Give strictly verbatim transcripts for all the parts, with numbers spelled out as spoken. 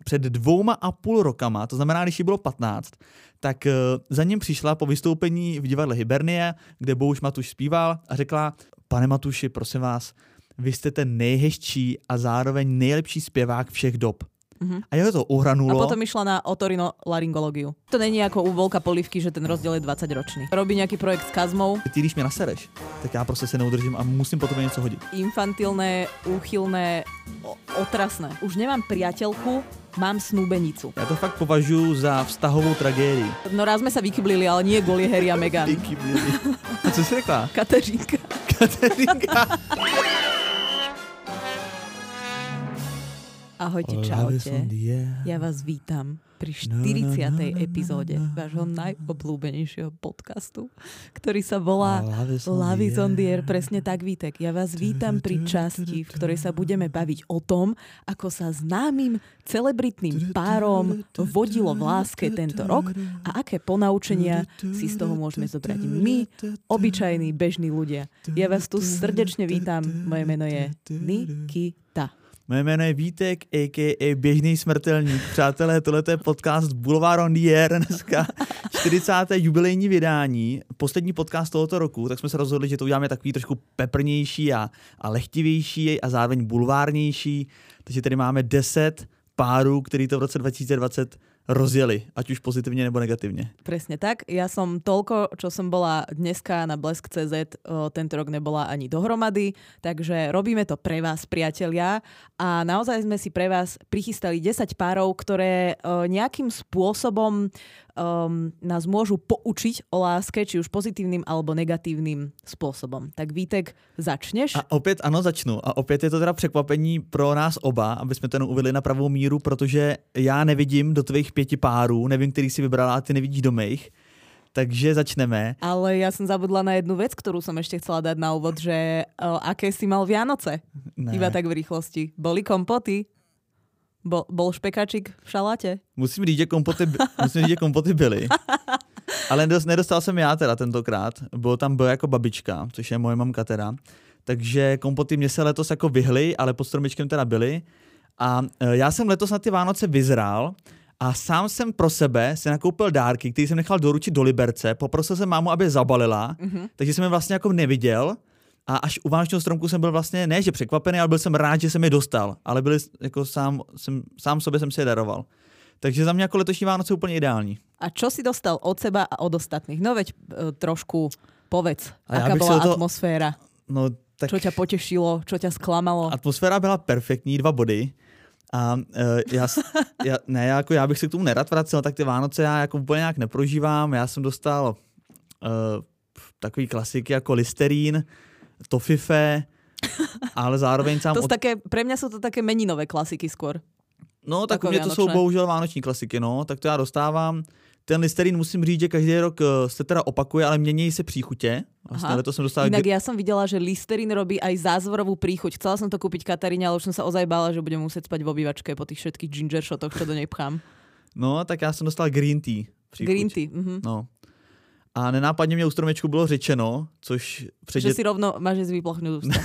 před dvouma a půl rokama, to znamená, když jí bylo patnáct, tak za ním přišla po vystoupení v divadle Hibernie, kde Bouš Matuš zpíval a řekla: pane Matuši, prosím vás, vy jste ten nejhezčí a zároveň nejlepší zpěvák všech dob. Uh-huh. A jeho to uhranulo. A potom išla na otorinolaryngológiu. To není ako u Volka Polívky, že ten rozdiel je dvadsaťročný. Robí nejaký projekt s Kazmou. Ty, když mě nasereš, tak já prostě se neudržím a musím potom něco hodit. Infantilné, úchylné, o- otrasné. Už nemám priateľku, mám snúbenicu. Já to fakt považuji za vztahovou tragédii. No raz sme sa vykyblili, ale nie kvôli Harry a Meghan. Vykyblili. A co jsi řekla? Kateřínka. Kateřínka. Ahojte, čaute. Ja vás vítam pri štyridsiatej epizóde vášho najobľúbenejšieho podcastu, ktorý sa volá Love is on the air. Presne tak, Vítek. Ja vás vítam pri časti, v ktorej sa budeme baviť o tom, ako sa známym celebritným párom vodilo v láske tento rok a aké ponaučenia si z toho môžeme zobrať my, obyčajní, bežní ľudia. Ja vás tu srdečne vítam. Moje meno je Nikita. Moje jméno je Vítek, a ká a. Běžný smrtelník. Přátelé, tohle je podcast Boulevard on the air, dneska čtyřicáté jubilejní vydání, poslední podcast tohoto roku, tak jsme se rozhodli, že to uděláme takový trošku peprnější a, a lehtivější a zároveň bulvárnější. Takže tady máme deset párů, který to v roce dva tisíce dvacet rozjeli, ať už pozitivne nebo negatívne. Presne tak. Ja som toľko, čo som bola dneska na blesk bodka cé zet, o, tento rok nebola ani dohromady, takže robíme to pre vás, priatelia. A naozaj sme si pre vás prichystali desať párov, ktoré o, nejakým spôsobom um, nás môžu poučiť o láske, či už pozitívnym alebo negatívnym spôsobom. Tak Vítek, začneš? A opět ano, začnu. A opět je to teda překvapení pro nás oba, aby jsme to jenom uvedli na pravou míru, protože já nevidím do tvých pěti párů, nevím, který si vybrala a ty nevidíš do mých. Takže začneme. Ale ja som zabudla na jednu vec, ktorú som ešte chcela dať na úvod, že o, aké si mal Vianoce? Ne. Iba tak v rýchlosti. Boli kompoty? Bol, bol špekačik v šaláte? Musím říct, že kompoty, musím říct, že kompoty byly. Ale nedostal jsem já teda tentokrát. Bylo tam byl jako babička, což je moje mamka teda. Takže kompoty mě se letos jako vyhly, ale pod stromečkem teda byly. A já jsem letos na ty Vánoce vyzrál a sám jsem pro sebe si nakoupil dárky, který jsem nechal doručit do Liberce. Poprosil jsem mámu, aby je zabalila, mm-hmm. takže jsem je vlastně jako neviděl. A až u vánočního stromku jsem byl vlastně, ne že překvapený, ale byl jsem rád, že jsem je dostal. Ale byli, jako sám, jsem, sám sobě jsem si je daroval. Takže za mě jako letošní Vánoce úplně ideální. A čo si dostal od seba a od ostatných? No veď e, trošku povedz, a aká bola to... atmosféra. No, tak... Čo ťa potešilo, čo ťa sklamalo? Atmosféra byla perfektní, dva body. A uh, já, já, ne, jako já bych se k tomu nerad vracel, tak ty Vánoce já jako úplně nějak neprožívám. Já jsem dostal uh, takový klasiky jako Listerín, Tofife, ale zároveň sám... To od... také, pre mňa sú to také meninové klasiky skôr. No, tak u mě to jsou bohužel vánoční klasiky, no, tak to já dostávám. Ten Listerín musím říct, že každý rok se teda opakuje, ale mění se příchutě. Vlastně to jsem dostal... Inak ja som videla, že Listerín robí aj zázvorovú príchuť. Chcela som to kúpiť Kataríne, ale už som sa ozaj bála, že budem musieť spať v obývačke po tých všetkých ginger shotoch, čo do nej pchám. No, tak já jsem dostal green tea příchuť. Green tea, mhm. No. A nenápadně mě u stromečku bylo řečeno, což... Před... Že si rovno máš vyplachnúť ústa.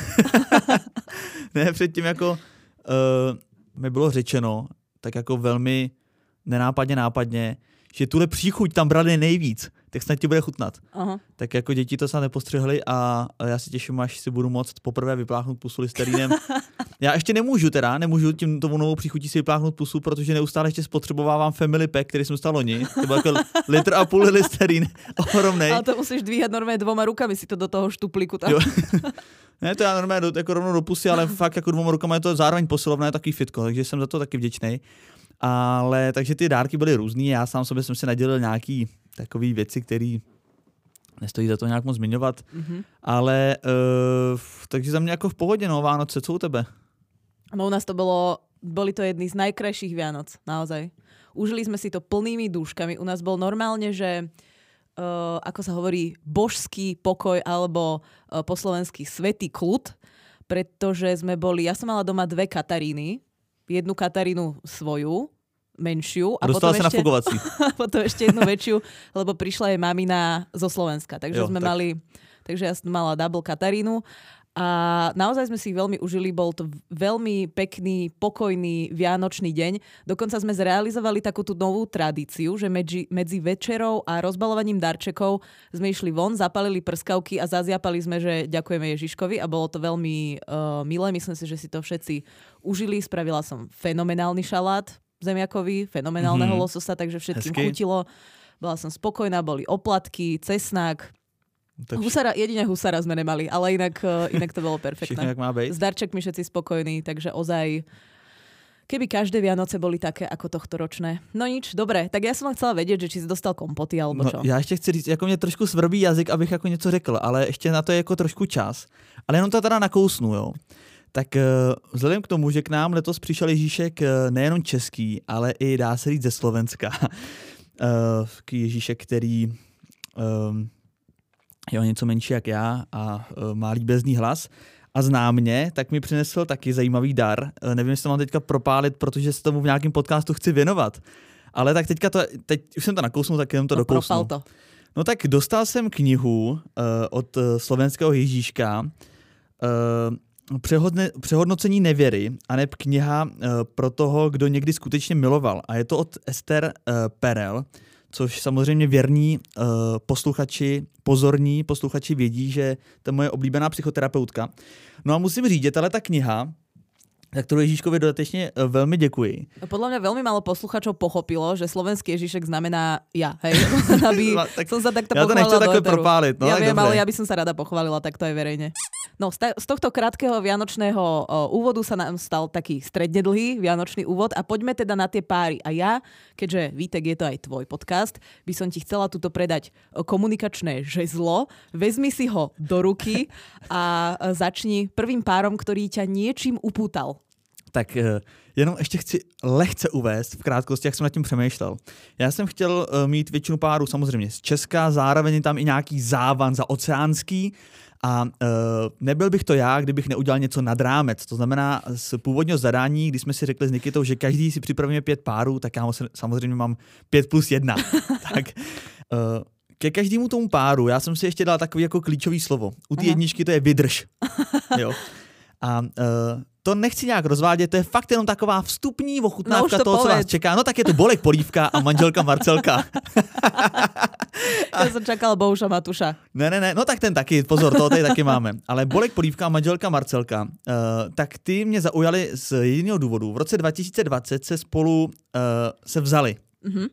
Ne, předtím jako uh, mi bylo řečeno, tak jako velmi nenápadně nápadně, že tuhle příchuť tam brali nejvíc, tak snad ti bude chutnat. Aha. Tak jako děti to snad nepostřehli a já si těším, až si budu moct poprvé vypláchnout pusu Listerínem. Já ještě nemůžu teda, nemůžu tím tomu novou příchutí si vypláchnout pusu, protože neustále ještě spotřebovávám Family Pack, který jsem dostal loni. To byl jako litr a půl Listerín, ohromnej. Ale to musíš dvíhat normálně dvoma rukami si to do toho štuplíku tam. Ne, to já normálně do, jako rovnou do pusy, ale fakt jako dvoma rukama je to zároveň posilovné, takový fitko, takže jsem za to taky vděčnej. Ale takže ty dárky byly různý, já sám sobě jsem si nadělil nějaký takový věci, které nestojí za to nějak moc zmiňovat, mm-hmm. ale uh, takže za mě jako v pohodě, no, Vánoce, co u tebe? No u nás to bolo, boli to jedny z najkrajších Vianoc, naozaj. Užili sme si to plnými dúškami, u nás bol normálne, že uh, ako sa hovorí, božský pokoj alebo uh, po slovensky svätý kľud, pretože sme boli, ja som mala doma dve Kataríny, jednu Katarínu svoju, menšiu. A dostala potom sa ešte, na fogovací. potom ešte jednu väčšiu, lebo prišla jej mamina zo Slovenska. Takže jo, sme tak. mali, takže ja som mala double Katarínu. A naozaj sme si ich veľmi užili, bol to veľmi pekný, pokojný vianočný deň. Dokonca sme zrealizovali takú tú novú tradíciu, že medzi, medzi večerou a rozbalovaním darčekov sme išli von, zapalili prskavky a zazjapali sme, že ďakujeme Ježiškovi a bolo to veľmi uh, milé. Myslím si, že si to všetci užili. Spravila som fenomenálny šalát zemiakový, fenomenálneho mm-hmm. lososa, takže všetkým Hezky. chutilo. Bola som spokojná, boli oplatky, cesnák. Tak... Husara, jedine husara sme nemali, ale inak, inak to bolo perfektné. Všechno, jak má být. S darčekmi všetci spokojní, takže ozaj, keby každé Vianoce boli také ako tohto ročné. No nič, dobre, tak ja som chcela vedieť, že či si dostal kompoty, alebo čo. No, já ještě chci říct, jako mě trošku svrbí jazyk, abych jako něco řekl, ale ještě na to je jako trošku čas. Ale jenom to teda nakousnu, jo. Tak vzhledem k tomu, že k nám letos přišel Ježíšek nejenom český, ale i dá se říct ze Slovenska. Ježíšek, který um, je o něco menší jak já a uh, má líbezný hlas a zná mě, tak mi přinesl taky zajímavý dar. Uh, nevím, jestli to mám teďka propálit, protože se tomu v nějakém podcastu chci věnovat. Ale tak teďka to, teď už jsem to nakousnul, tak jenom to no, dokousnu. Propal to. No tak dostal jsem knihu uh, od uh, slovenského Ježíška uh, Přehodne, Přehodnocení nevěry, aneb kniha uh, pro toho, kdo někdy skutečně miloval. A je to od Ester uh, Perel, což samozřejmě věrní uh, posluchači, pozorní posluchači vědí, že to je moje oblíbená psychoterapeutka. No a musím říct, ale ta kniha, za ktorú Ježíškovi dodatečne veľmi děkuji. Podľa mňa veľmi málo posluchačov pochopilo, že slovenský Ježíšek znamená ja, hej? Aby no, tak som sa takto ja pochválila do Ja to nechcem takto propáliť. No, ja viem, dobre. ale ja by som sa rada pochválila takto aj verejne. No, z tohto krátkeho vianočného úvodu sa nám stal taký stredne dlhý vianočný úvod a poďme teda na tie páry. A ja, keďže Vítek, je to aj tvoj podcast, by som ti chcela tuto predať komunikačné žezlo. Vezmi si ho do ruky a začni prvým párom, ktorý ťa niečím upútal. Tak jenom ještě chci lehce uvést v krátkosti, jak jsem nad tím přemýšlel. Já jsem chtěl mít většinu párů samozřejmě z Česka, zároveň je tam i nějaký závan za oceánský a uh, nebyl bych to já, kdybych neudělal něco nad rámec. To znamená z původního zadání, kdy jsme si řekli s Nikitou, že každý si připravíme pět párů, tak já samozřejmě mám pět plus jedna. tak uh, ke každému tomu páru já jsem si ještě dal takový jako klíčový slovo. U té jedničky to je vydrž. Jo. A uh, to nechci nějak rozvádět, to je fakt jenom taková vstupní ochutnávka no, to toho, povedz. Co vás čeká. No tak je to Bolek Polívka a manželka Marcelka. Já jsem čakal Bouša Matuša. Ne, ne, ne, no tak ten taky, pozor, toho tady taky máme. Ale Bolek Polívka a manželka Marcelka, uh, tak ty mě zaujaly z jediného důvodu. V roce dva tisíce dvacet se spolu uh, se vzali. Mm-hmm.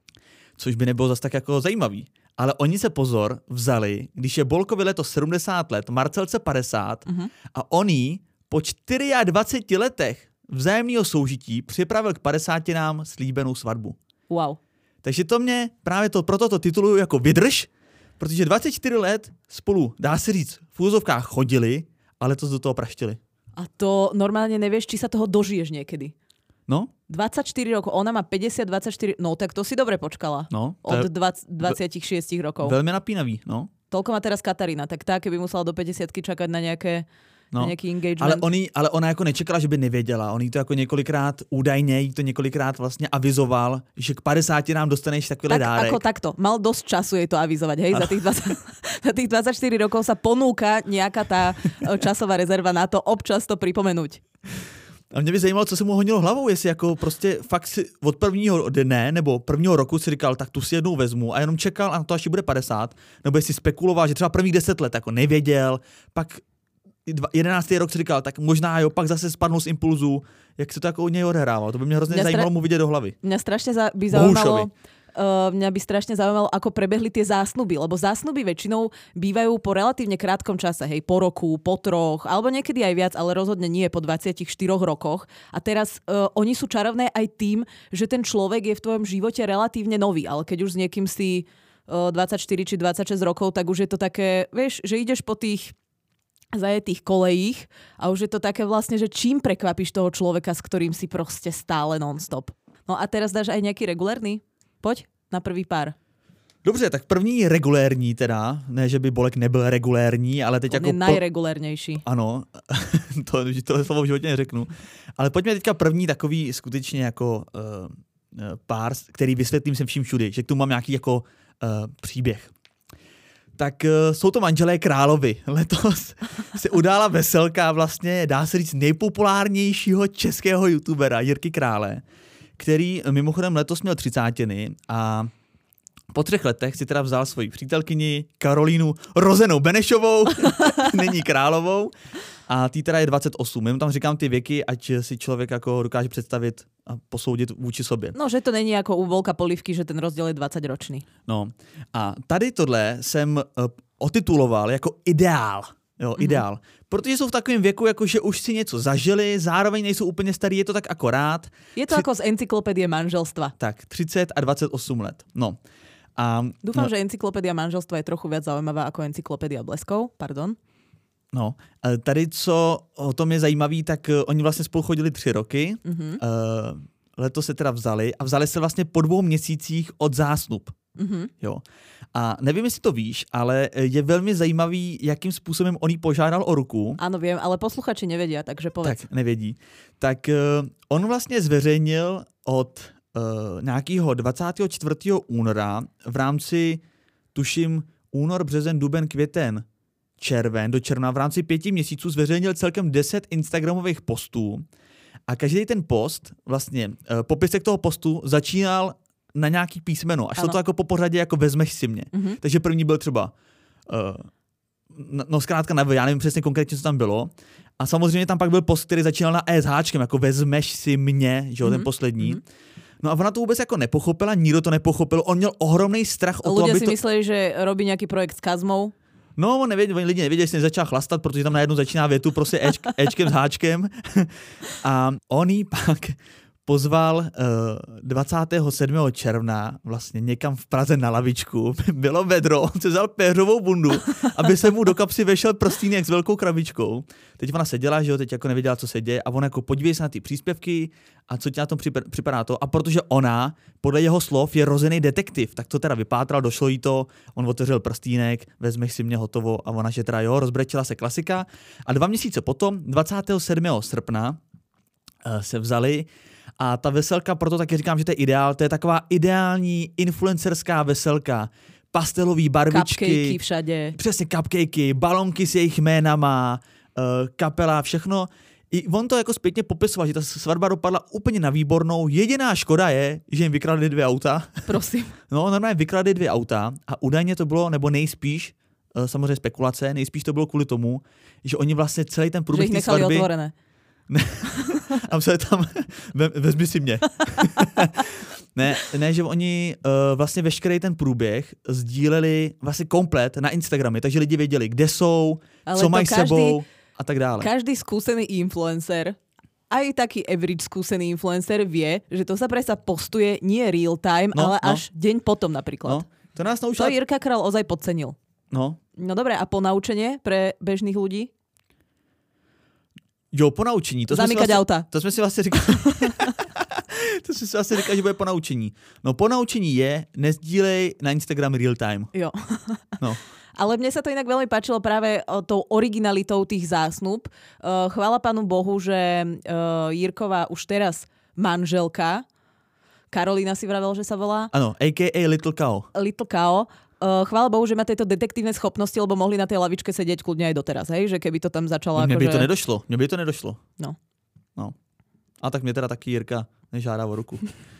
Což by nebylo zase tak jako zajímavý. Ale oni se pozor vzali, když je Bolkovi letos sedmdesát let, Marcelce padesát mm-hmm. a oni po dvaceti čtyřech letech vzájemného soužití připravil k padesátinám slíbenou svatbu. Wow. Takže to mě právě to, proto to tituluju jako vydrž, protože dvacet čtyři let spolu, dá se říct, v úzovkách chodili, ale to do toho praštili. A to normálně nevíš, či sa toho dožiješ někdy. No? dvadsaťštyri rokov, ona má päťdesiat, dvadsaťštyri, no tak to si dobre počkala. No, od dvadsať, dvadsaťšesť rokov. Veľmi napínavý, no. Toľko má teraz Katarína, tak tá, keby musela do päťdesiatky čakať na nejaké no. na nejaký engagement. Ale, oni, ale ona jako nečekala, že by nevěděla. On jí to jako několikrát, údajně jí to několikrát vlastně avizoval, že k padesáti nám dostaneš takovýhle tak, dárek. Ako takto. Mal dosť času jej to avizovať, hej? Za tých, dvadsať, za tých dvadsaťštyri rokov sa ponúka nejaká tá časová rezerva na to občas to pripomenúť. A mě by zajímalo, co se mu honilo hlavou, jestli jako prostě fakt si od prvního dne nebo prvního roku si říkal, tak tu si jednou vezmu a jenom čekal a to až bude padesát, nebo jestli spekuloval, že třeba prvních deset let jako nevěděl, pak jedenáctý rok si říkal, tak možná jo, pak zase spadnul z impulzu, jak se to jako u něj odehrával. To by mě hrozně mě zajímalo stra... mu vidět do hlavy. Mňa strašne za... by zaujímalo... Uh, mňa by strašne zaujímalo, ako prebehli tie zásnuby, lebo zásnuby väčšinou bývajú po relatívne krátkom čase, hej, po roku, po troch, alebo niekedy aj viac, ale rozhodne nie po dvadsiatich štyroch rokoch. A teraz uh, oni sú čarovné aj tým, že ten človek je v tvojom živote relatívne nový, ale keď už s niekým si uh, dvadsaťštyri či dvadsaťšesť rokov, tak už je to také, vieš, že ideš po tých zajetých kolejích a už je to také vlastne, že čím prekvapíš toho človeka, s ktorým si proste stále non-stop. No a teraz dáš aj nejaký regulérny? Pojď na prvý pár. Dobře, tak první regulérní teda, ne, že by Bolek nebyl regulérní, ale teď On jako... je najregulérnější. Ano, to, tohle slovo v životě neřeknu. Ale pojďme teďka první takový skutečně jako uh, pár, který vysvětlím sem vším všudy, že k tomu mám nějaký jako uh, příběh. tak uh, jsou to manželé královi. Letos se udála veselka vlastně, dá se říct, nejpopulárnějšího českého youtubera Jirky Krále, který mimochodem letos měl třicátiny a po třech letech si teda vzal svoji přítelkyni Karolínu Rozenou Benešovou, není Královou, a tý teda je dvacet osm. Jenom tam říkám ty věky, ať si člověk jako dokáže představit a posoudit vůči sobě. No, že to není jako u Volka Polívky, že ten rozdíl je dvacetiročný. No a tady tohle jsem uh, otituloval jako ideál. Jo, mm-hmm. ideál. Protože jsou v takovém věku, jako že už si něco zažili, zároveň nejsou úplně starý, je to tak akorát. Je to Tři... jako z encyklopédie manželstva. Tak, třicet a dvacet osm let. No. A, Dúfam, no, že encyklopédia manželstva je trochu viac zaujímavá ako encyklopédia bleskov. Pardon. No, tady, co o tom je zajímavý, tak uh, oni vlastně spolu chodili tři roky. Mm-hmm. Uh, letos se teda vzali a vzali se vlastně po dvou měsících od zásnub. Mm-hmm. Jo. A nevím, jestli to víš, ale je velmi zajímavý, jakým způsobem on jí požádal o ruku. Ano, vím, ale posluchači nevědí, takže povedz. Tak, nevědí. Tak uh, on vlastně zveřejnil od uh, nějakého dvacátého čtvrtého února v rámci, tuším, únor, březen, duben, květen, červen, do června, v rámci pěti měsíců zveřejnil celkem deset instagramových postů a každý ten post, vlastně uh, popisek toho postu začínal na nějaký písmeno. Až to to jako po pořadě jako vezmeš si mě. Mm-hmm. Takže první byl třeba uh, no zkrátka na já nevím přesně konkrétně, co tam bylo. A samozřejmě tam pak byl post, který začínal na E s háčkem, jako vezmeš si mě, že jo, mm-hmm. ten poslední. Mm-hmm. No a ona to vůbec jako nepochopila, nikdo to nepochopil. On měl ohromný strach o to, aby si to... mysleli, že robí nějaký projekt s Kazmou. No, on nevěděl, lidi nevěděli, jestli nezačal chlastat, protože tam najednou začíná větu prostě Ečk, Ečkem s háčkem. A on jí pak pozval uh, dvacátého sedmého června vlastně někam v Praze na lavičku. Bylo vedro, on se vzal péřovou bundu, aby se mu do kapsy vešel prstýnek s velkou krabičkou. Teď ona seděla, že jo, teď jako nevěděla, co se děje a on jako podívej se na ty příspěvky a co ti na tom připadá to. A protože ona, podle jeho slov, je rozený detektiv, tak to teda vypátral, došlo jí to, on otevřel prstýnek, vezmeš si mě, hotovo, a ona že teda jo, rozbrečila se klasika. A dva měsíce potom, dvacátého sedmého srpna, uh, se vzali. A ta veselka, proto taky říkám, že to je ideál, to je taková ideální influencerská veselka. Pastelový barvičky. Cupcakey všade. Přesně, cupcakey, balonky s jejich jménama, uh, kapela, všechno. I on to jako zpětně popisoval, že ta svatba dopadla úplně na výbornou. Jediná škoda je, že jim vykradli dvě auta. Prosím. No, normálně vykradli dvě auta a údajně to bylo, nebo nejspíš, uh, samozřejmě spekulace, nejspíš to bylo kvůli tomu, že oni vlastně celý ten průběh té svatby... Že jich nechali otvorené. Ne, a se tam, ve, vezmi si mě. ne, ne, že oni uh, vlastně veškerý ten průběh sdíleli vlastně komplet na Instagramy, takže lidi věděli, kde jsou, ale co mají každý, sebou a tak dále. Každý skúsený influencer, aj taký average skúsený influencer vie, že to sa predsa postuje nie real time, no, ale no. až deň potom napríklad. No, to nás naučila... To Jirka Král ozaj podcenil. No. No dobre, a ponaučenie pre bežných ľudí? Jo, ponaučení. To Zamykať vlastně, auta. To jsme si vlastně říkali. to jsme si vlastně říkali, že bude ponaučení. No ponaučení je, nezdílej na Instagram real time. Jo. No. Ale mne sa to inak veľmi páčilo práve tou originalitou tých zásnub. Chvála Pánu Bohu, že Jirková už teraz manželka, Karolína si vravel, že sa volá. Áno, á ká á Little Cow. Little Cow. Chvála Bohu, že má tieto detektívne schopnosti, lebo mohli na tej lavičke sedieť kľudne aj doteraz, hej? Že keby to tam začalo Mne ako, by že... to nedošlo, mne by to nedošlo. No. No. A tak mě teda taky Jirka nežádá o ruku.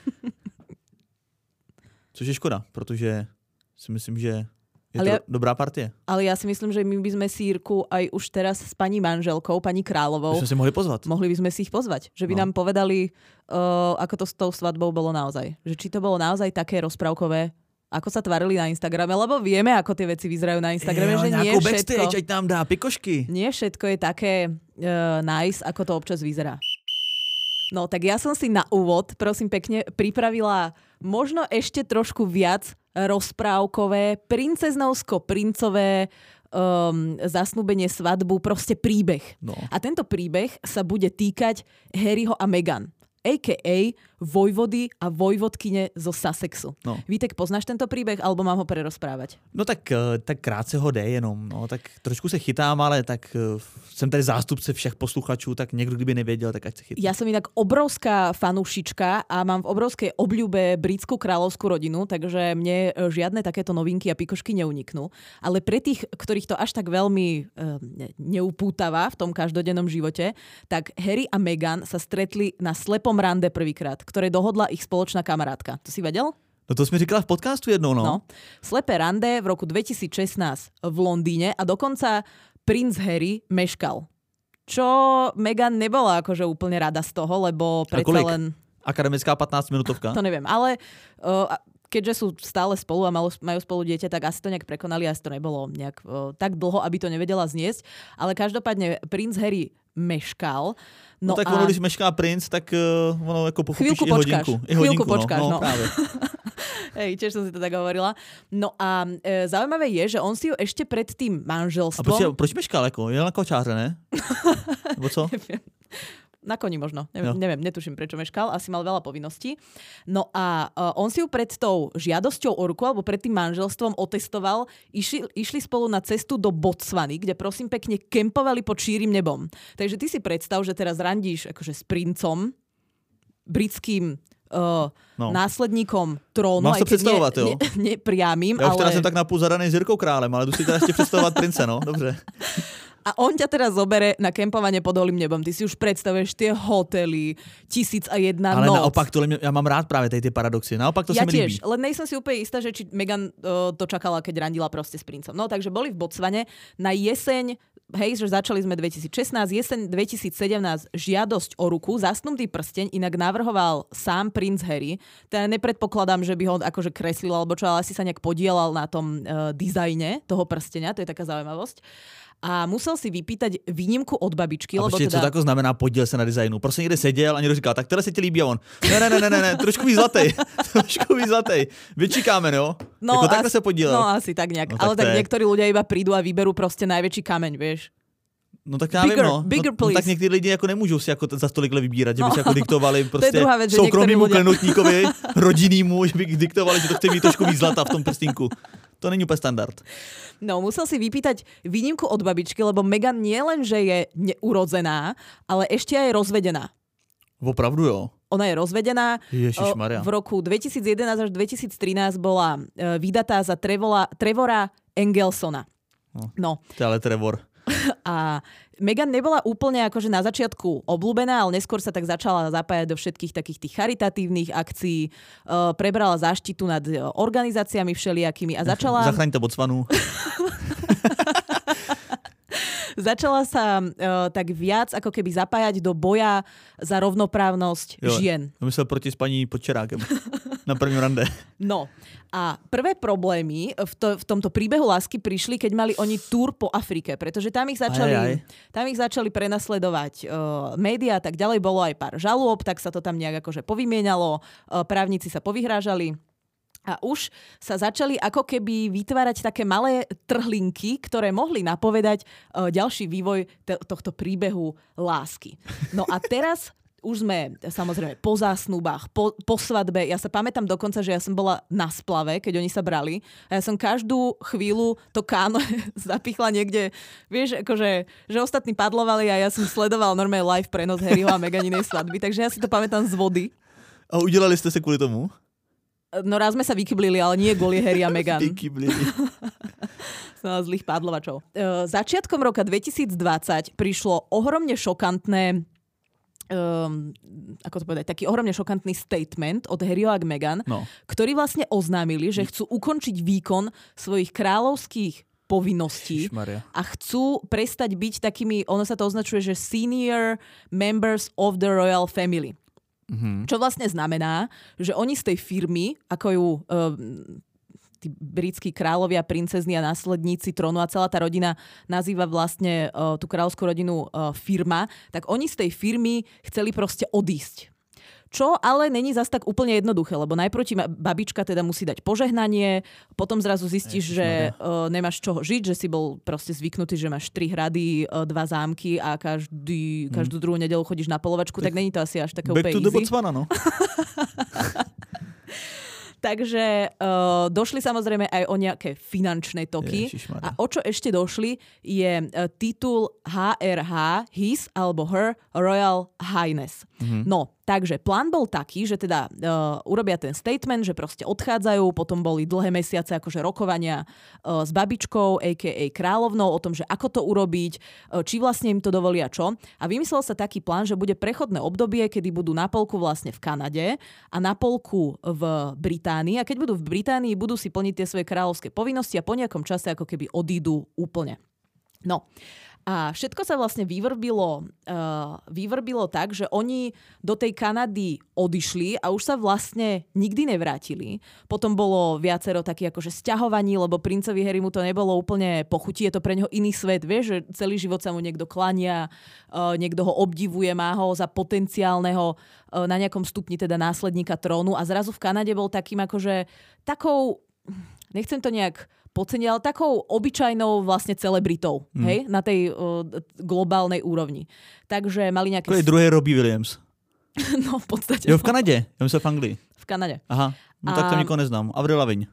Což je škoda, protože si myslím, že je ale to ja, dobrá partie. Ale ja si myslím, že my by sme si Jirku aj už teraz s pani manželkou, pani Královou... By sme si mohli pozvať. Mohli by sme si ich pozvať. Že by no. nám povedali, uh, ako to s tou svadbou bolo naozaj. Že či to bolo naozaj také rozprávkové, ako sa tvarili na Instagrame, lebo vieme, ako tie veci vyzerajú na Instagrame, Ejo, že nie všetko... backstage, ať nám dá pikošky. Nie všetko je také uh, nice, ako to občas vyzerá. No, tak ja som si na úvod, prosím pekne, pripravila možno ešte trošku viac rozprávkové, princeznovsko-princové um, zasnúbenie, svadbu, proste príbeh. No. A tento príbeh sa bude týkať Harryho a Meghan. á ká á vojvody a vojvodkyne zo Sussexu. No. Vítek, poznáš tento príbeh, alebo mám ho prerozprávať? No tak, tak krátce ho jde jenom, no, tak trošku se chytám, ale tak jsem tady zástupce všech posluchačů, tak někdo, kdyby nevěděl, tak ať se chytá. Ja som inak obrovská fanúšička a mám v obrovskej obľúbe britskú kráľovskú rodinu, takže mne žiadne takéto novinky a pikošky neuniknú. Ale pre tých, ktorých to až tak veľmi e, neupútava v tom každodennom živote, tak Harry a Meghan sa stretli na slepom rande prvýkrát, ktoré dohodla ich spoločná kamarátka. To si vedel? No to jsi mi říkala v podcastu jednou, no. No. Slepé rande v roku dvetisícšestnásť v Londýne a dokonca princ Harry meškal. Čo Meghan nebola akože úplne rada z toho, lebo predsa len... Akademická pätnásťminútovka? To neviem, ale uh, keďže sú stále spolu a majú spolu dieťa, tak asi to nejak prekonali, asi to nebolo nejak uh, tak dlho, aby to nevedela zniesť. Ale každopádne princ Harry meškal. No, no tak a... ono, když mešká princ, tak uh, ono jako pochopíš i hodinku. I Chvíľku hodinku, počkáš, no. no. no právě. Hej, tiež som si to tak hovorila. No a e, zaujímavé je, že on si ju ešte pred tým manželstvom... A proč, proč meškal? Jako? Jel na kočáře, ne? Nebo co? Na koni možno. Neviem, neviem, netuším, prečo meškal. Asi mal veľa povinností. No a uh, on si ju pred tou žiadosťou o ruku alebo pred tým manželstvom otestoval. Išli, išli spolu na cestu do Botswany, kde prosím pekne kempovali pod šírim nebom. Takže ty si predstav, že teraz randíš akože s princom, britským uh, no. následníkom trónu. Mám to představovat, jo? Ne, ne, priamým, Já už teda ale... jsem tak napůl zadaný s Jirkou Králem, ale jdu si teda ještě představovat prince, no, dobře. A on ťa teraz zobere na kempovanie pod holým nebom. Ty si už predstavuješ tie hotely, tisíc a jedna ale noc. Ale naopak, tohle, ja mám rád práve tie paradoxy. Naopak to ja sa mi tiež, líbí. len nejsem si úplne istá, že či Meghan uh, to čakala, keď randila proste s princom. No takže boli v Botswane na jeseň, hej, že začali sme dvetisícšestnásť, jeseň dvetisícsedemnásť žiadosť o ruku, zasnutý prsteň, inak navrhoval sám princ Harry. Teda nepredpokladám, že by ho akože kreslil, alebo čo, ale asi sa nejak podielal na tom uh, dizajne toho prstenia, to je taká zaujímavosť. A musel si vypýtať výnimku od babičky. A lebo počkej, teda... co tako znamená podíl se na designu? Prostě někde seděl a někdo říkal, tak teda se ti líbí a on. Ne, ne, ne, ne, ne, ne trošku víc zlatej. trošku víc zlatej. Vyčíkáme, no? No, jako takhle asi, se podílel. No asi tak nejak. No, ale tak tak je... niektorí ľudia iba prídu a vyberú proste najväčší kameň, vieš. No tak já bigger, vím, no. Bigger, no, no tak někteří lidi jako nemůžou si jako za stolikle vybírat, že by no. si jako diktovali prostě věc, soukromýmu ľudia... klenotníkovi, rodinnému, že by diktovali, že to chce mít trošku víc zlata v tom prstínku. To není úplně standard. No, musel si vypýtať výnimku od babičky, lebo Meghan nie len, že je neurodzená, ale ešte aj rozvedená. Opravdu jo. Ona je rozvedená. Ježišmaria. V roku dvetisícjedenásť až dvetisíctrinásť bola vydatá za Trevola, Trevora Engelsona. No. no. To je ale Trevor. A Meghan nebola úplne akože na začiatku obľúbená, ale neskôr sa tak začala zapájať do všetkých takých tých charitatívnych akcií, uh, prebrala záštitu nad organizáciami všelijakými a začala... Zachraňte Botswanu. Začala sa uh, tak viac ako keby zapájať do boja za rovnoprávnosť jo, žien. Myslel proti s paní Podčerákem na prvním rande. No a prvé problémy v, to, v tomto príbehu lásky prišli, keď mali oni túr po Afrike, pretože tam ich začali, aj, aj. Tam ich začali prenasledovať uh, médiá, tak ďalej bolo aj pár žalôb, tak sa to tam nejak akože povymienalo, uh, právnici sa povyhrážali. A už sa začali ako keby vytvárať také malé trhlinky, ktoré mohli napovedať uh, ďalší vývoj t- tohto príbehu lásky. No a teraz už sme samozrejme po zásnubách, po, po svadbe. Ja sa pamätám dokonca, že ja som bola na splave, keď oni sa brali. A ja som každú chvíľu to káno zapichla niekde. Vieš, akože, že ostatní padlovali a ja som sledoval normálne live prenos Harryho a Meganinej svadby. Takže ja si to pamätám z vody. A udělali ste sa kvôli tomu? No raz sme sa vykyblili, ale nie kvôli Harry a Meghan. Vykyblili. Som zlých pádlovačov. Začiatkom roka dvetisícdvadsať prišlo ohromne šokantné um, ako to povedať, taký ohromne šokantný statement od Harryho a Meghan, no. ktorí vlastne oznámili, že chcú ukončiť výkon svojich kráľovských povinností Ježišmaria. A chcú prestať byť takými, ono sa to označuje, že senior members of the royal family. Mm-hmm. Čo vlastne znamená, že oni z tej firmy, ako ju uh, tí britskí kráľovia, princezny a následníci trónu a celá tá rodina nazýva vlastne uh, tú kráľovskú rodinu uh, firma, tak oni z tej firmy chceli proste odísť. Čo ale není zas tak úplne jednoduché, lebo najprv ti babička teda musí dať požehnanie, potom zrazu zistíš, Ježiš, že uh, nemáš čoho žiť, že si bol proste zvyknutý, že máš tri hrady, uh, dva zámky a každý, hmm. každú druhú nedeľu chodíš na polovačku, tak, tak není to asi až také úplne easy. Back to the Botswana, no. Takže uh, došli samozrejme aj o nejaké finančné toky. A o čo ešte došli je uh, titul há er há, His alebo Her Royal Highness. Mm-hmm. No, takže plán bol taký, že teda uh, urobia ten statement, že proste odchádzajú, potom boli dlhé mesiace akože rokovania uh, s babičkou, á ká á kráľovnou, o tom, že ako to urobiť, uh, či vlastne im to dovolia čo. A vymyslel sa taký plán, že bude prechodné obdobie, kedy budú na polku vlastne v Kanade a na polku v Británii. A keď budú v Británii, budú si plniť tie svoje kráľovské povinnosti a po nejakom čase ako keby odídu úplne. No. A všetko sa vlastne vyvrbilo, uh, vyvrbilo tak, že oni do tej Kanady odišli a už sa vlastne nikdy nevrátili. Potom bolo viacero takých akože sťahovaní, lebo princovi Harrymu to nebolo úplne pochutí, je to pre neho iný svet, vieš, že celý život sa mu niekto klania, uh, niekto ho obdivuje, má ho za potenciálneho uh, na nejakom stupni teda následníka trónu a zrazu v Kanade bol takým akože takou, nechcem to nejak podceniť, ale takou obyčajnou vlastne celebritou, mm. hej, na tej uh, globálnej úrovni. Takže mali nejaké... To je druhý Robbie Williams. No, v podstate. Jo, v Kanade. Ja myslím v Anglii. V Kanade. Aha, no a... tak to nikoho neznám. Avril Lavigne.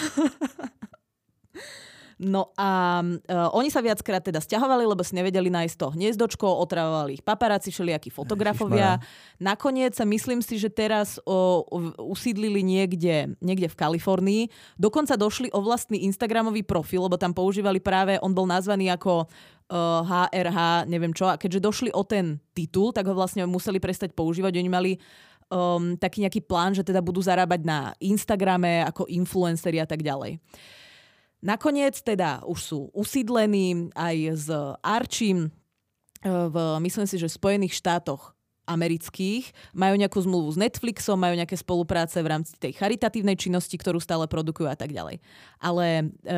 No a uh, oni sa viackrát teda sťahovali, lebo si nevedeli nájsť to hniezdočko, otravovali ich paparáci, všelijakí fotografovia. Nakoniec sa myslím si, že teraz uh, usídlili niekde, niekde v Kalifornii. Dokonca došli o vlastný Instagramový profil, lebo tam používali práve, on bol nazvaný ako uh, há er há, neviem čo. A keďže došli o ten titul, tak ho vlastne museli prestať používať. Oni mali um, taký nejaký plán, že teda budú zarábať na Instagrame ako influenceri a tak ďalej. Nakoniec teda už sú usídlení aj s Archiem v, myslím si, že v Spojených štátoch amerických. Majú nejakú zmluvu s Netflixom, majú nejaké spolupráce v rámci tej charitatívnej činnosti, ktorú stále produkujú a tak ďalej. Ale e,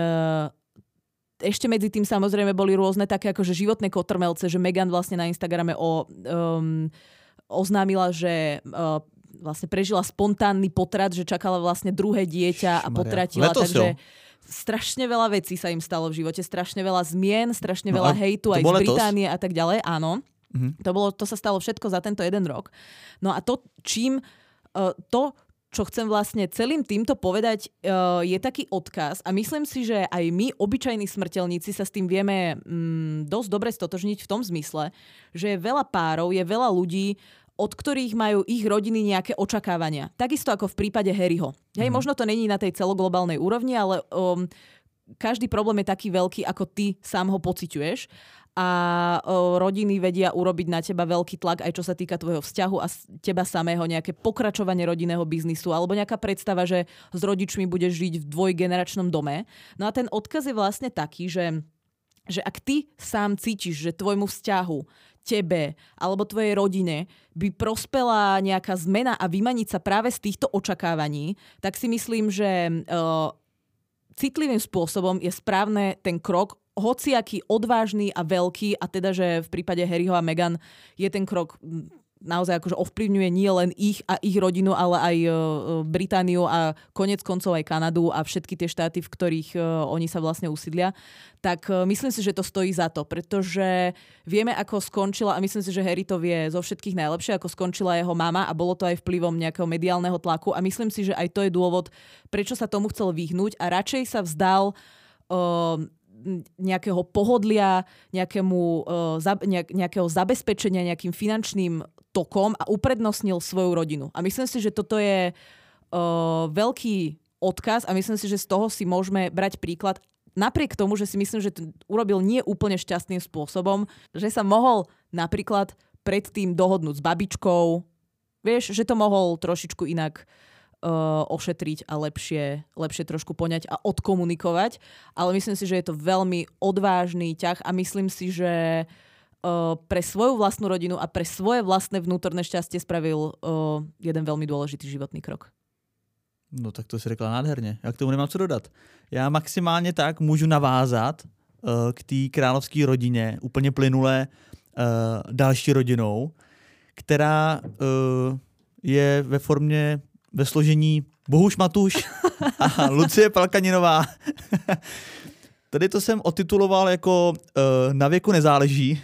ešte medzi tým samozrejme boli rôzne také akože životné kotrmelce, že Meghan vlastne na Instagrame o, um, oznámila, že uh, vlastne prežila spontánny potrat, že čakala vlastne druhé dieťa a potratila. Letos takže strašne veľa vecí sa im stalo v živote, strašne veľa zmien, strašne no veľa hejtu aj z Británie a tak ďalej. Áno, mm-hmm. to, bolo, to sa stalo všetko za tento jeden rok. No a to, čím uh, to, čo chcem vlastne celým týmto povedať, uh, je taký odkaz a myslím si, že aj my, obyčajní smrteľníci, sa s tým vieme mm, dosť dobre stotožniť v tom zmysle, že je veľa párov, je veľa ľudí, od ktorých majú ich rodiny nejaké očakávania. Takisto ako v prípade Harryho. Hej, mm. možno to není na tej celoglobálnej úrovni, ale um, každý problém je taký veľký, ako ty sám ho pociťuješ. A um, rodiny vedia urobiť na teba veľký tlak, aj čo sa týka tvojho vzťahu a teba samého, nejaké pokračovanie rodinného biznisu alebo nejaká predstava, že s rodičmi budeš žiť v dvojgeneračnom dome. No a ten odkaz je vlastne taký, že, že ak ty sám cítiš, že tvojmu vzťahu, tebe alebo tvojej rodine by prospela nejaká zmena a vymaniť sa práve z týchto očakávaní, tak si myslím, že uh, citlivým spôsobom je správne ten krok, hociaký odvážny a veľký, a teda, že v prípade Harryho a Meghan je ten krok naozaj akože ovplyvňuje nie len ich a ich rodinu, ale aj uh, Britániu a konec koncov aj Kanadu a všetky tie štáty, v ktorých uh, oni sa vlastne usídlia, tak uh, myslím si, že to stojí za to, pretože vieme, ako skončila, a myslím si, že Harry to vie zo všetkých najlepšie, ako skončila jeho mama a bolo to aj vplyvom nejakého mediálneho tlaku a myslím si, že aj to je dôvod, prečo sa tomu chcel vyhnúť a radšej sa vzdal uh, nejakého pohodlia, nejakému, uh, za, nejak, nejakého zabezpečenia, nejakým finančným tokom a uprednostnil svoju rodinu. A myslím si, že toto je uh, veľký odkaz a myslím si, že z toho si môžeme brať príklad. Napriek tomu, že si myslím, že to urobil nie úplne šťastným spôsobom, že sa mohol napríklad predtým dohodnúť s babičkou, vieš, že to mohol trošičku inak uh, ošetriť a lepšie, lepšie trošku poňať a odkomunikovať. Ale myslím si, že je to veľmi odvážny ťah a myslím si, že Uh, pre svoju vlastnú rodinu a pre svoje vlastné vnútorné šťastie spravil uh, jeden veľmi dôležitý životný krok. No tak to si řekla nádherně. Já k tomu nemám co dodat. Já maximálně tak můžu navázat uh, k té královské rodině úplně plynule uh, další rodinou, která uh, je ve formě, ve složení Bohuš Matuš a Lucie Palkaninová. Tady to jsem otituloval jako uh, Na věku nezáleží,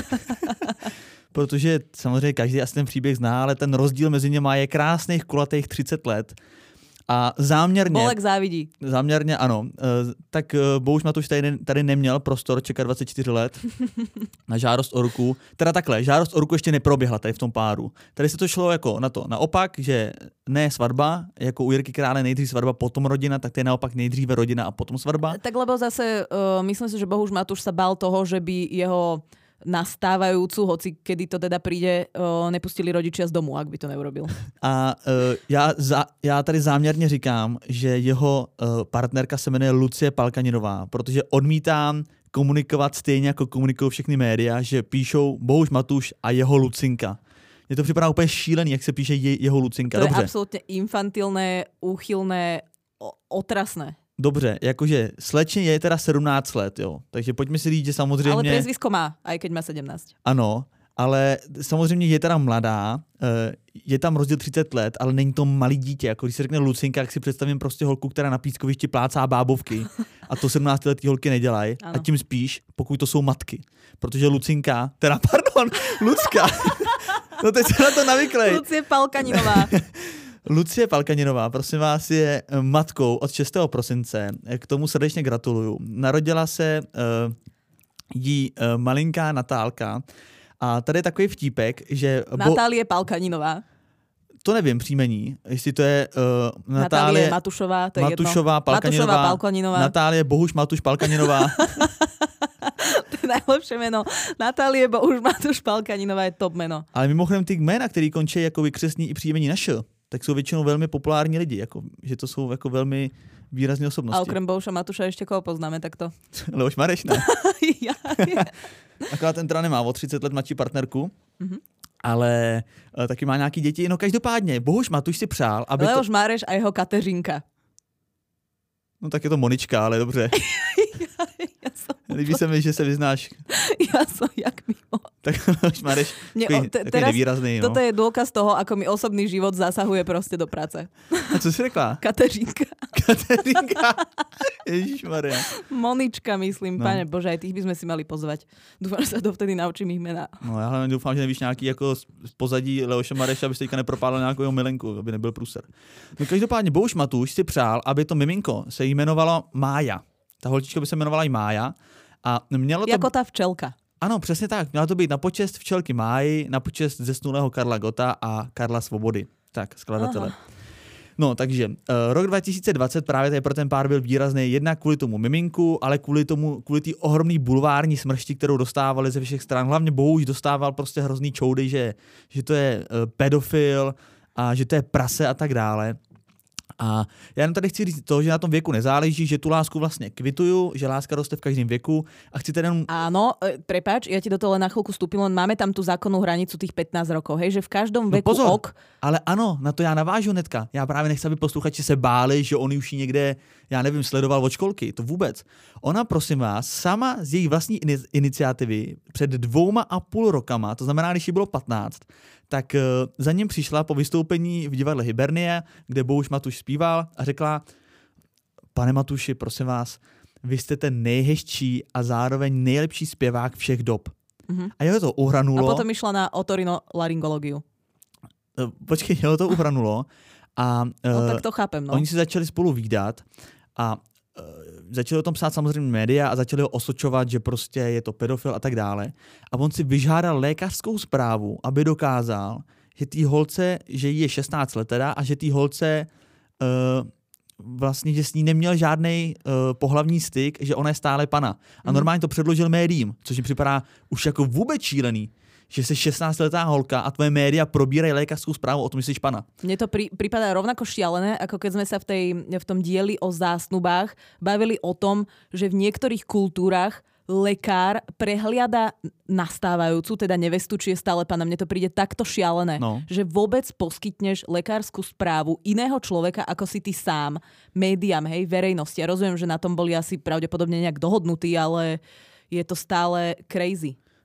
protože samozřejmě každý asi ten příběh zná, ale ten rozdíl mezi něma je krásných kulatých třicet let. A záměrně... Bolek závidí. Záměrně ano. Tak Bohuš Matuš tady, tady neměl prostor čekat dvacet čtyři let na žádost o ruku. Teda takhle, žádost o ruku ještě neproběhla tady v tom páru. Tady se to šlo jako na to naopak, že ne svatba, jako u Jirky Krále nejdřív svatba, potom rodina, tak to je naopak nejdříve rodina a potom svatba. Tak lebo zase uh, myslím si, že Bohuš Matuš sa bál toho, že by jeho nastávajúcu, hoci kedy to teda príde, uh, nepustili rodičia z domu, ak by to neurobil. A uh, já, za, já tady záměrně říkám, že jeho uh, partnerka se jmenuje Lucie Palkaninová, protože odmítám komunikovat stejně, jako komunikují všechny média, že píšou Bohuš Matuš a jeho Lucinka. Mně to připadá úplně šílený, jak se píše je, jeho Lucinka. To Dobře. je absolútne infantilné, úchylné, otrasné. Dobře, jakože slečně je teda sedmnáct let, jo. Takže pojďme si říct, že samozřejmě... Ale priezvisko má, aj keď má sedemnásť. Ano, ale samozřejmě je teda mladá, je tam rozdíl třicet let, ale není to malý dítě. Jako když se řekne Lucinka, jak si představím prostě holku, která na pískovišti plácá bábovky a to sedmnáctiletý holky nedělají. A tím spíš, pokud to jsou matky. Protože Lucinka, teda pardon, Lucka, no teď se na to navyklej. Lucie Palkaninová. Lucie Palkaninová, prosím vás, je matkou od šestého prosince. K tomu srdečně gratuluju. Narodila se uh, jí uh, malinká Natálka. A tady je takový vtípek, že... Bo... Natálie Palkaninová. To nevím příjmení, jestli to je uh, Natálie... Natálie Matušová, to je Matušová, jedno. Palkaninová, Matušová, Palkaninová. Natálie Bohuš Matuš Palkaninová. To je najlepšie meno. Natálie Bohuš Matuš Palkaninová je top meno. Ale mimochodem ty jména, který končí jako vykřesní i příjmení na š, tak jsou většinou velmi populární lidi, jako, že to jsou jako velmi výrazné osobnosti. A okrem Bohuša Matuša ještě koho poznáme takto? Leoš Mareš, ne? ja, ja. Akorát ten teda nemá o třicet let mladší partnerku, mm-hmm. ale uh, taky má nějaký děti. No každopádně, Bohuš Matuš si přál, aby Leoš to... Mareš a jeho Kateřinka. No tak je to Monička, ale dobře. ja, ja som... Líbí se mi, že se vyznáš. Ja som jak mimo. Tak Leoš Mareš, takový, te, takový nevýrazný. Toto no. je dôkaz toho, ako mi osobný život zasahuje proste do práce. A co jsi řekla? Kateřinka. Kateřinka. Ježišmarja. Monička, myslím. No. Pane Bože, aj tých by sme si mali pozvať. Dúfam, že sa dovtedy naučím ich mená. No já hlavně doufám, že nevíš nějaký jako z pozadí Leoše Mareša, aby se teďka nepropálil nějakou jeho milenku, aby nebyl průser. No každopádně Bohuš Matuš si přál, aby to miminko se jmenovalo Mája. Ta holčička by se jmenovala i Mája. A mělo to... Jako ta včelka. Ano, přesně tak. Měla to být na počest včelky Máji, na počest zesnulého Karla Gotta a Karla Svobody. Tak, skladatele. Aha. No, takže uh, rok dva tisíce dvacet právě tady pro ten pár byl výrazný jednak kvůli tomu miminku, ale kvůli tomu, kvůli té ohromné bulvární smršti, kterou dostávali ze všech stran. Hlavně Bohuš dostával prostě hrozný čoudy, že, že to je uh, pedofil a že to je prase a tak dále. A já jenom tady chci říct to, že na tom věku nezáleží, že tu lásku vlastně kvituju, že láska roste v každém věku a chci teda... Áno, prepáč, ja ti do toho len na chvíľku vstúpim, len máme tam tú zákonnú hranicu tých pätnásť rokov, hej, že v každom no veku pozor, ok. Ale ano, na to já navážu hnedka. Já právě nechci, aby posluchači se báli, že on už ji někde, já nevím, sledoval od školky, to vůbec. Ona, prosím vás, sama z její vlastní iniciativy před dvouma a půl rokama, to znamená, když jí bylo patnáct, tak uh, za ním přišla po vystoupení v divadle Hibernie, kde Bohuš Matuš zpíval a řekla: pane Matuši, prosím vás, vy jste ten nejhezčí a zároveň nejlepší zpěvák všech dob. Mm-hmm. A jeho to uhranulo. A potom išla na otorinolaryngológiu. Uh, počkej, jeho to uhranulo. A, uh, no tak to chápem, no. Oni si začali spolu vídat a uh, začali o tom psát samozřejmě média a začali ho osočovat, že prostě je to pedofil a tak dále. A on si vyžádal lékařskou zprávu, aby dokázal, že tý holce, že jí je šestnáct let teda a že tý holce uh, vlastně, že s ní neměl žádnej uh, pohlavní styk, že ona je stále pana. A normálně to předložil médiím, což mi připadá už jako vůbec šílený. Že jsi šestnáctiletá holka a tvoje média probírají lékařskou zprávu o tom, že jsi pana. Mne to pri, prípada rovnako šialené, ako keď sme sa v, tej, v tom dieli o zásnubách bavili o tom, že v niektorých kultúrach lekár prehliada nastávajúcu, teda nevestu, či je stále pana. Mne to príde takto šialené, no. Že vôbec poskytneš lekárskú správu iného človeka, ako si ty sám, médiám, hej, verejnosti. Ja rozumiem, že na tom boli asi pravdepodobne nejak dohodnutí, ale je to stále crazy.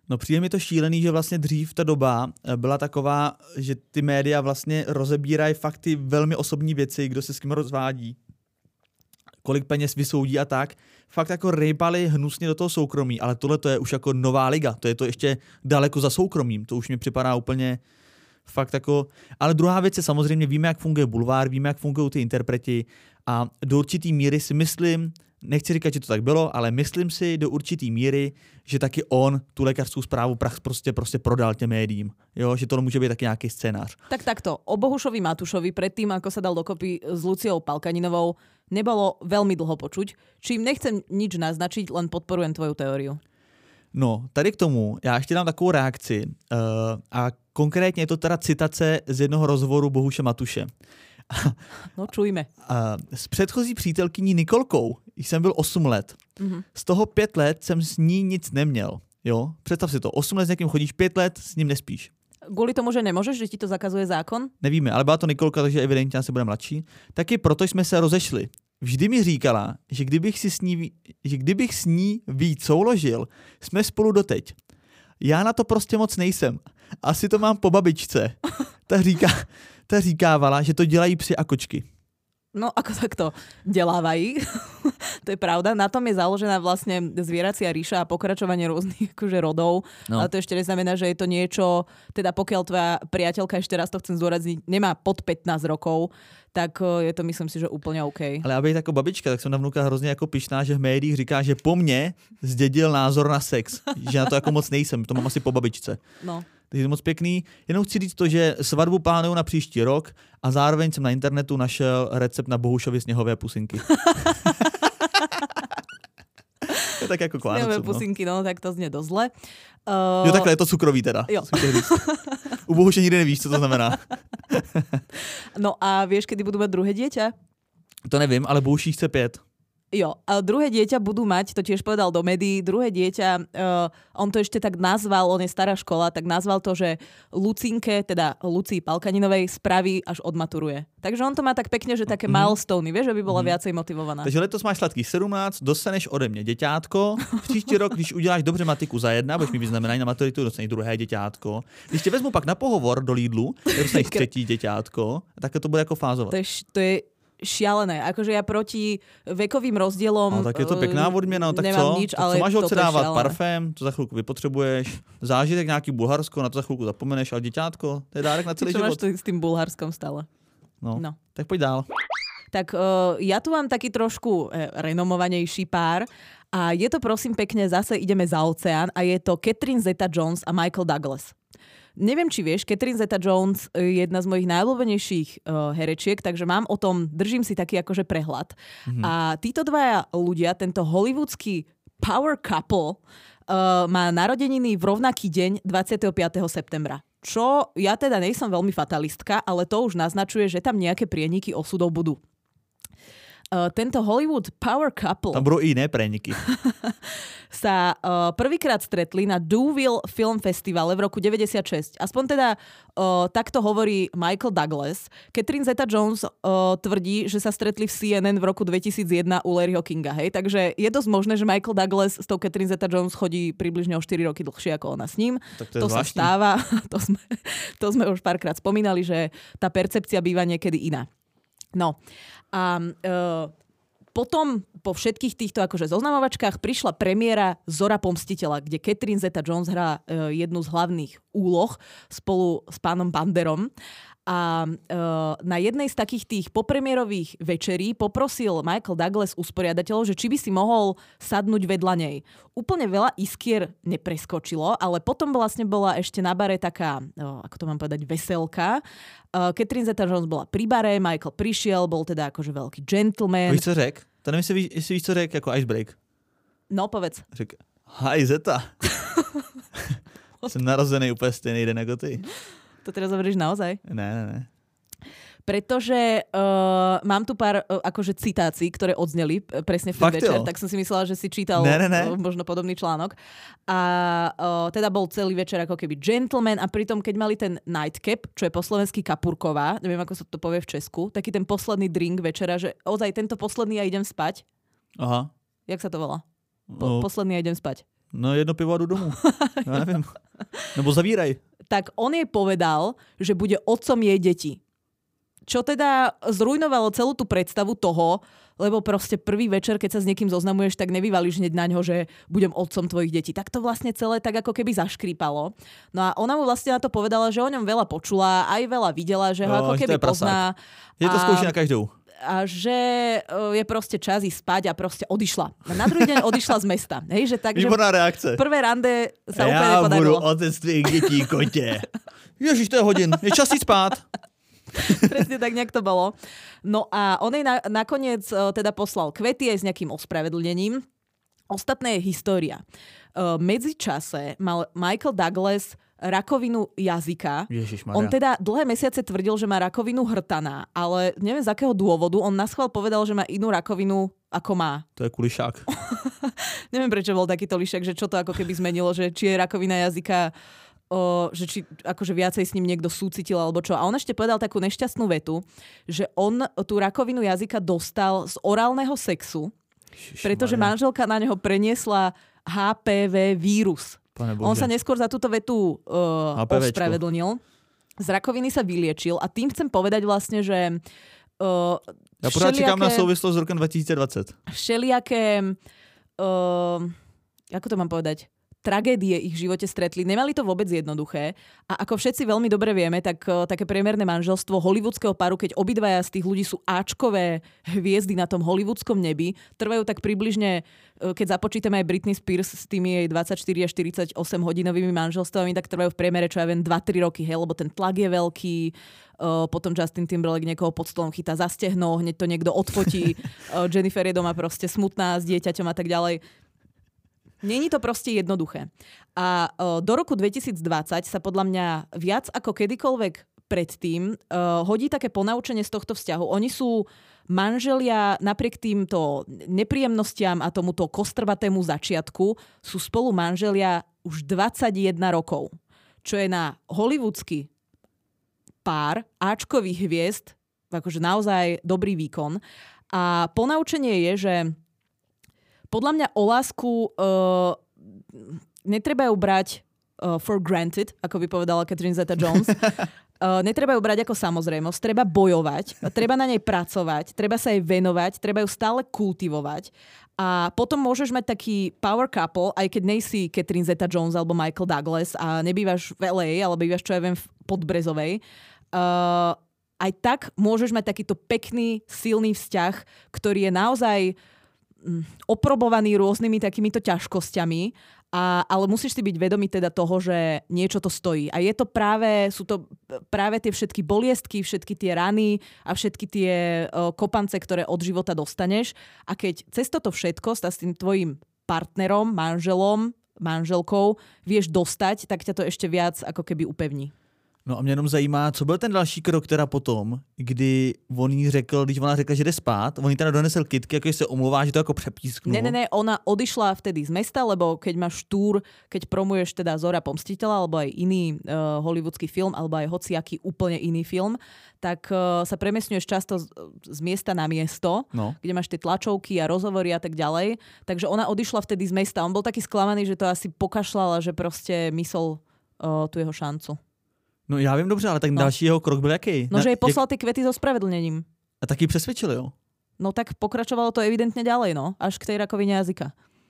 No přijde mi to šílený, že vlastně dřív ta doba byla taková, že ty média vlastně rozebírají fakt ty velmi osobní věci, kdo se s kým rozvádí, kolik peněz vysoudí a tak. Fakt jako rejpali hnusně do toho soukromí, ale tohle to je už jako nová liga, to je to ještě daleko za soukromím, to už mi připadá úplně fakt jako... Ale druhá věc je samozřejmě, víme, jak funguje bulvár, víme, jak fungují ty interpreti a do určitý míry si myslím, nechci říkat, že to tak bylo, ale myslím si do určitý míry, že taky on tu lékařskou zprávu prostě, prostě prodal těm médiím. Jo, že to může být taky nějaký scénář. Tak takto, o Bohušovi Matušovi predtým, ako sa dal dokopy s Luciou Palkaninovou, nebolo veľmi dlho počuť. Čím nechcem nič naznačiť, len podporujem tvoju teóriu. No, tady k tomu, já ještě dám takovou reakci uh, a konkrétně je to teda citace z jednoho rozhovoru Bohuše Matuše. No, čujme. Uh, s předchozí přítelkyní Nikolkou jsem byl osm let. Mm-hmm. Z toho pět let jsem s ní nic neměl. Jo? Představ si to, osm let s někým chodíš, pět let s ním nespíš. Kvůli tomu, že nemůžeš, že ti to zakazuje zákon? Nevíme, ale byla to Nikolka, takže evidentně se bude mladší. Taky proto jsme se rozešli. Vždy mi říkala, že kdybych, si s ní, že kdybych s ní víc souložil, jsme spolu doteď. Já na to prostě moc nejsem. Asi to mám po babičce. Ta, říká, ta říkávala, že to dělají psi a kočky. No, ako takto delávají. To je pravda. Na tom je založená vlastne zvieracia ríša a pokračovanie rôznych akože rodov. No. Ale to ešte neznamená, že je to niečo, teda pokiaľ tvoja priateľka, ešte raz to chcem zdôrazniť, nemá pod pätnásť rokov, tak je to, myslím si, že úplne OK. Ale aby jako babička, tak jsem na vnuka hrozně jako pyšná, že v médiích říká, že po mně zdědil názor na sex. Že na to jako moc nejsem, to mám asi po babičce. No. Takže je moc pěkný. Jenom chci říct to, že svatbu plánuju na příští rok a zároveň jsem na internetu našel recept na Bohušovy sněhové pusinky. Je tak jako k Vánocům, sněhové pusinky, no. no, tak to znie dosť zle. Uh... Jo, takhle je to cukrový teda. Jo. U Bohuše nikdy nevíš, co to znamená. No a vieš, kedy budú mať druhé dieťa? To nevím, ale Bohuší chce pět. Jo, a druhé dieťa budú mať, to tiež povedal do médií, druhé dieťa, uh, on to ešte tak nazval, on je stará škola, tak nazval to, že Lucinke, teda Lucii Palkaninovej, spraví, až odmaturuje. Takže on to má tak pekne, že také mm-hmm. milestony, vieš, aby bola mm-hmm. viacej motivovaná. Takže letos máš sladký sedmnáct, dostaneš ode mě děťátko, příští rok, když uděláš dobře matiku za jedna, budeš mi vyznamenají na maturitu, dostaneš druhé děťátko. Když tě vezmu pak na pohovor do Lidlu, dostaneš třetí děťátko, tak to bude jako fázovat. To je, to je šialené. Akože ja proti vekovým rozdielom no, tak je to pekná odměna, tak nemám co? nič, tak ale co máš odsedávat? Šialené. Parfém, to za chvilku vypotřebuješ, zážitek nějaký Bulharsko, na to za chvilku zapomeneš, ale děťátko, to je dárek na celý Čo život. Čo máš s tým Bulharskom stále? No, no. Tak pojď dál. Tak uh, ja tu mám taký trošku eh, renomovanejší pár a je to prosím pekne, zase ideme za oceán a je to Catherine Zeta-Jones a Michael Douglas. Neviem, či vieš, Catherine Zeta-Jones je jedna z mojich najobľúbenejších uh, herečiek, takže mám o tom, držím si taký akože prehľad. Mm-hmm. A títo dvaja ľudia, tento hollywoodský power couple, uh, má narodeniny v rovnaký deň dvadsiateho piateho septembra. Čo ja teda nejsom veľmi fatalistka, ale to už naznačuje, že tam nejaké prieniky osudov budú. Uh, tento Hollywood power couple... Tam budú i iné preniky. sa uh, prvýkrát stretli na Deauville Film Festivale v roku deväťdesiatšesť. Aspoň teda uh, takto hovorí Michael Douglas. Catherine Zeta-Jones uh, tvrdí, že sa stretli v C N N v roku dvetisícjeden u Larryho Kinga. Hej? Takže je dosť možné, že Michael Douglas s tou Catherine Zeta-Jones chodí približne o štyri roky dlhšie ako ona s ním. Tak to to sa stáva. to, sme, to sme už párkrát spomínali, že tá percepcia býva niekedy iná. No a uh, potom po všetkých týchto akože zoznamovačkách prišla premiéra Zora pomstiteľa, kde Catherine Zeta-Jones hrá uh, jednu z hlavných úloh spolu s pánom Banderom. A uh, na jednej z takých tých popremierových večerí poprosil Michael Douglas usporiadateľov, že či by si mohol sadnúť vedľa nej. Úplne veľa iskier nepreskočilo, ale potom vlastne bola ešte na bare taká, uh, ako to mám povedať, veselka. Uh, Catherine Zeta-Jones bola pri bare, Michael prišiel, bol teda akože veľký gentleman. Víš, co řek? To nevím, jestli víš, jestli víš, co řek jako icebreak. No, povedz. Řek, hi Zeta. Jsem narozený úplně stejný den jako ty. To teraz hovoríš naozaj? Ne, ne, ne. Pretože uh, mám tu pár uh, akože citácií, ktoré odzneli presne v ten Fakt večer, jo? tak som si myslela, že si čítal ne, ne, ne. Uh, možno podobný článok. A uh, teda bol celý večer ako keby gentleman a pritom, keď mali ten nightcap, čo je po slovensky kapurková, neviem, ako sa to povie v Česku, taký ten posledný drink večera, že ozaj tento posledný ja idem spať. Aha. Jak sa to volá? Po, no. Posledný ja idem spať. No jedno pivo a jdu domů. Ja neviem. Nebo zavíraj. Tak on jej povedal, že bude otcom jej detí. Čo teda zrujnovalo celú tú predstavu toho, lebo proste prvý večer, keď sa s niekým zoznamuješ, tak nevyvalíš hneď na ňo, že budem otcom tvojich detí. Tak to vlastne celé tak ako keby zaškrípalo. No a ona mu vlastne na to povedala, že o ňom veľa počula, aj veľa videla, že ho no, ako keby pozná. Je to skúši na každou. A že je proste čas ísť spať a proste odišla. Na druhý deň odišla z mesta. Hej, že tak, výborná reakce. Prvé rande sa ja úplne nepodarilo. Ja budu otec tvých detí, kote. Ježiš, to je hodin. Je čas ísť spát. Presne tak nejak to bolo. No a on jej na, nakoniec uh, teda poslal kvety aj s nejakým ospravedlnením. Ostatné je história. Uh, medzičase mal Michael Douglas rakovinu jazyka. Ježišmaria. On teda dlhé mesiace tvrdil, že má rakovinu hrtaná, ale neviem z akého dôvodu. On naschvál povedal, že má inú rakovinu, ako má. To je kulišák. Neviem, prečo bol takýto lišák, že čo to ako keby zmenilo, že či je rakovina jazyka O, že či akože viacej s ním niekto súcitil alebo čo. A on ešte povedal takú nešťastnú vetu, že on tú rakovinu jazyka dostal z orálneho sexu, Ježišmaria. Pretože manželka na neho preniesla há pé vé vírus. On sa neskôr za túto vetu uh, ospravedlnil. Z rakoviny sa vyliečil a tým chcem povedať vlastne, že uh, ja pořád čekám na súvislosť z rokom dvetisícdvadsať. Všelijaké uh, ako to mám povedať? Tragédie ich v živote stretli. Nemali to vôbec jednoduché. A ako všetci veľmi dobre vieme, tak uh, také priemerné manželstvo hollywoodského paru, keď obidvaja z tých ľudí sú áčkové hviezdy na tom hollywoodskom nebi, trvajú tak približne, uh, keď započítame aj Britney Spears s tými jej dvadsaťštyri až štyridsaťosem hodinovými manželstvami, tak trvajú v priemere, čo ja viem, dva tri roky, hej, lebo ten tlak je veľký. Uh, potom Justin Timberlake niekoho pod stolom chytá za stehno, hneď to niekto odfotí. uh, Jennifer je doma proste smutná s dieťaťom a tak ďalej. Není to proste jednoduché. A uh, do roku dvetisícdvadsať sa podľa mňa viac ako kedykoľvek predtým uh, hodí také ponaučenie z tohto vzťahu. Oni sú manželia napriek týmto nepríjemnostiam a tomuto kostrbatému začiatku sú spolu manželia už dvadsaťjeden rokov. Čo je na hollywoodsky pár áčkových hviezd akože naozaj dobrý výkon. A ponaučenie je, že podľa mňa o lásku uh, netreba ju brať uh, for granted, ako by povedala Catherine Zeta-Jones. Uh, netreba ju brať ako samozrejmosť, treba bojovať, treba na nej pracovať, treba sa jej venovať, treba ju stále kultivovať. A potom môžeš mať taký power couple, aj keď nejsi Catherine Zeta-Jones alebo Michael Douglas a nebývaš v el ej, ale bývaš, čo ja viem, v Podbrezovej. Uh, aj tak môžeš mať takýto pekný, silný vzťah, ktorý je naozaj oprobovaný rôznymi takýmito ťažkosťami, a, ale musíš si byť vedomý teda toho, že niečo to stojí. A je to práve, sú to práve tie všetky boliestky, všetky tie rany a všetky tie uh, kopance, ktoré od života dostaneš. A keď cez toto všetko sa s tým tvojim partnerom, manželom, manželkou vieš dostať, tak ťa to ešte viac ako keby upevní. No a mě jenom zajímá, co byl ten další krok teda potom, kdy on jí řekl, když ona řekla, že jde spát, on jí teda donesel kytky, ako sa omluvá, že to ako prepísknul. Ne, ne, ne, ona odišla vtedy z mesta, lebo keď máš túr, keď promuješ teda Zora pomstiteľa, alebo aj iný uh, hollywoodsky film, alebo aj hociaký úplne iný film, tak uh, sa premiesňuješ často z, z miesta na miesto, no. Kde máš tie tlačovky a rozhovory a tak ďalej. Takže ona odišla vtedy z mesta. On bol taký sklamaný, že to asi pokašľala, že proste myslel uh, tu jeho šancu. No já vím dobře, ale tak no. Další jeho krok byl jaký? No, že jej poslal ty kvety so spravedlnením. A tak ji přesvědčil, jo? No tak pokračovalo to evidentně ďalej, no. Až k tej rakovině jazyka.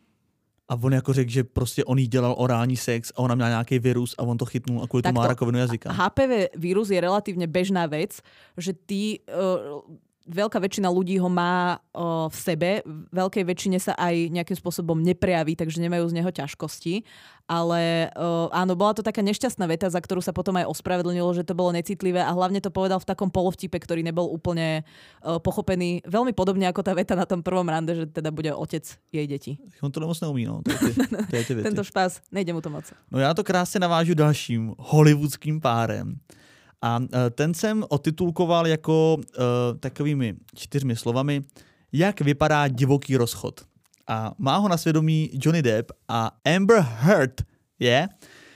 A on jako řekl, že prostě on jí dělal orální sex a ona měla nějaký virus a on to chytnul a kvůli tomu má rakovinu jazyka. há pé vé vírus je relatívne bežná vec, že ty... Uh, veľká väčšina ľudí ho má uh, v sebe, veľkej väčšine sa aj nejakým spôsobom neprejaví, takže nemajú z neho ťažkosti. Ale uh, áno, bola to taká nešťastná veta, za ktorú sa potom aj ospravedlnilo, že to bolo necitlivé a hlavne to povedal v takom polovtipe, ktorý nebol úplne uh, pochopený. Veľmi podobne ako tá veta na tom prvom rande, že teda bude otec jej detí. On to moc neumí, no. To je ty, to je ty věci. Tento špás, nejde mu to moc. No já to krásně navážu dalším hollywoodským párem. A ten jsem otitulkoval jako uh, takovými čtyřmi slovami, jak vypadá divoký rozchod. A má ho na svědomí Johnny Depp a Amber Heard, je? Yeah?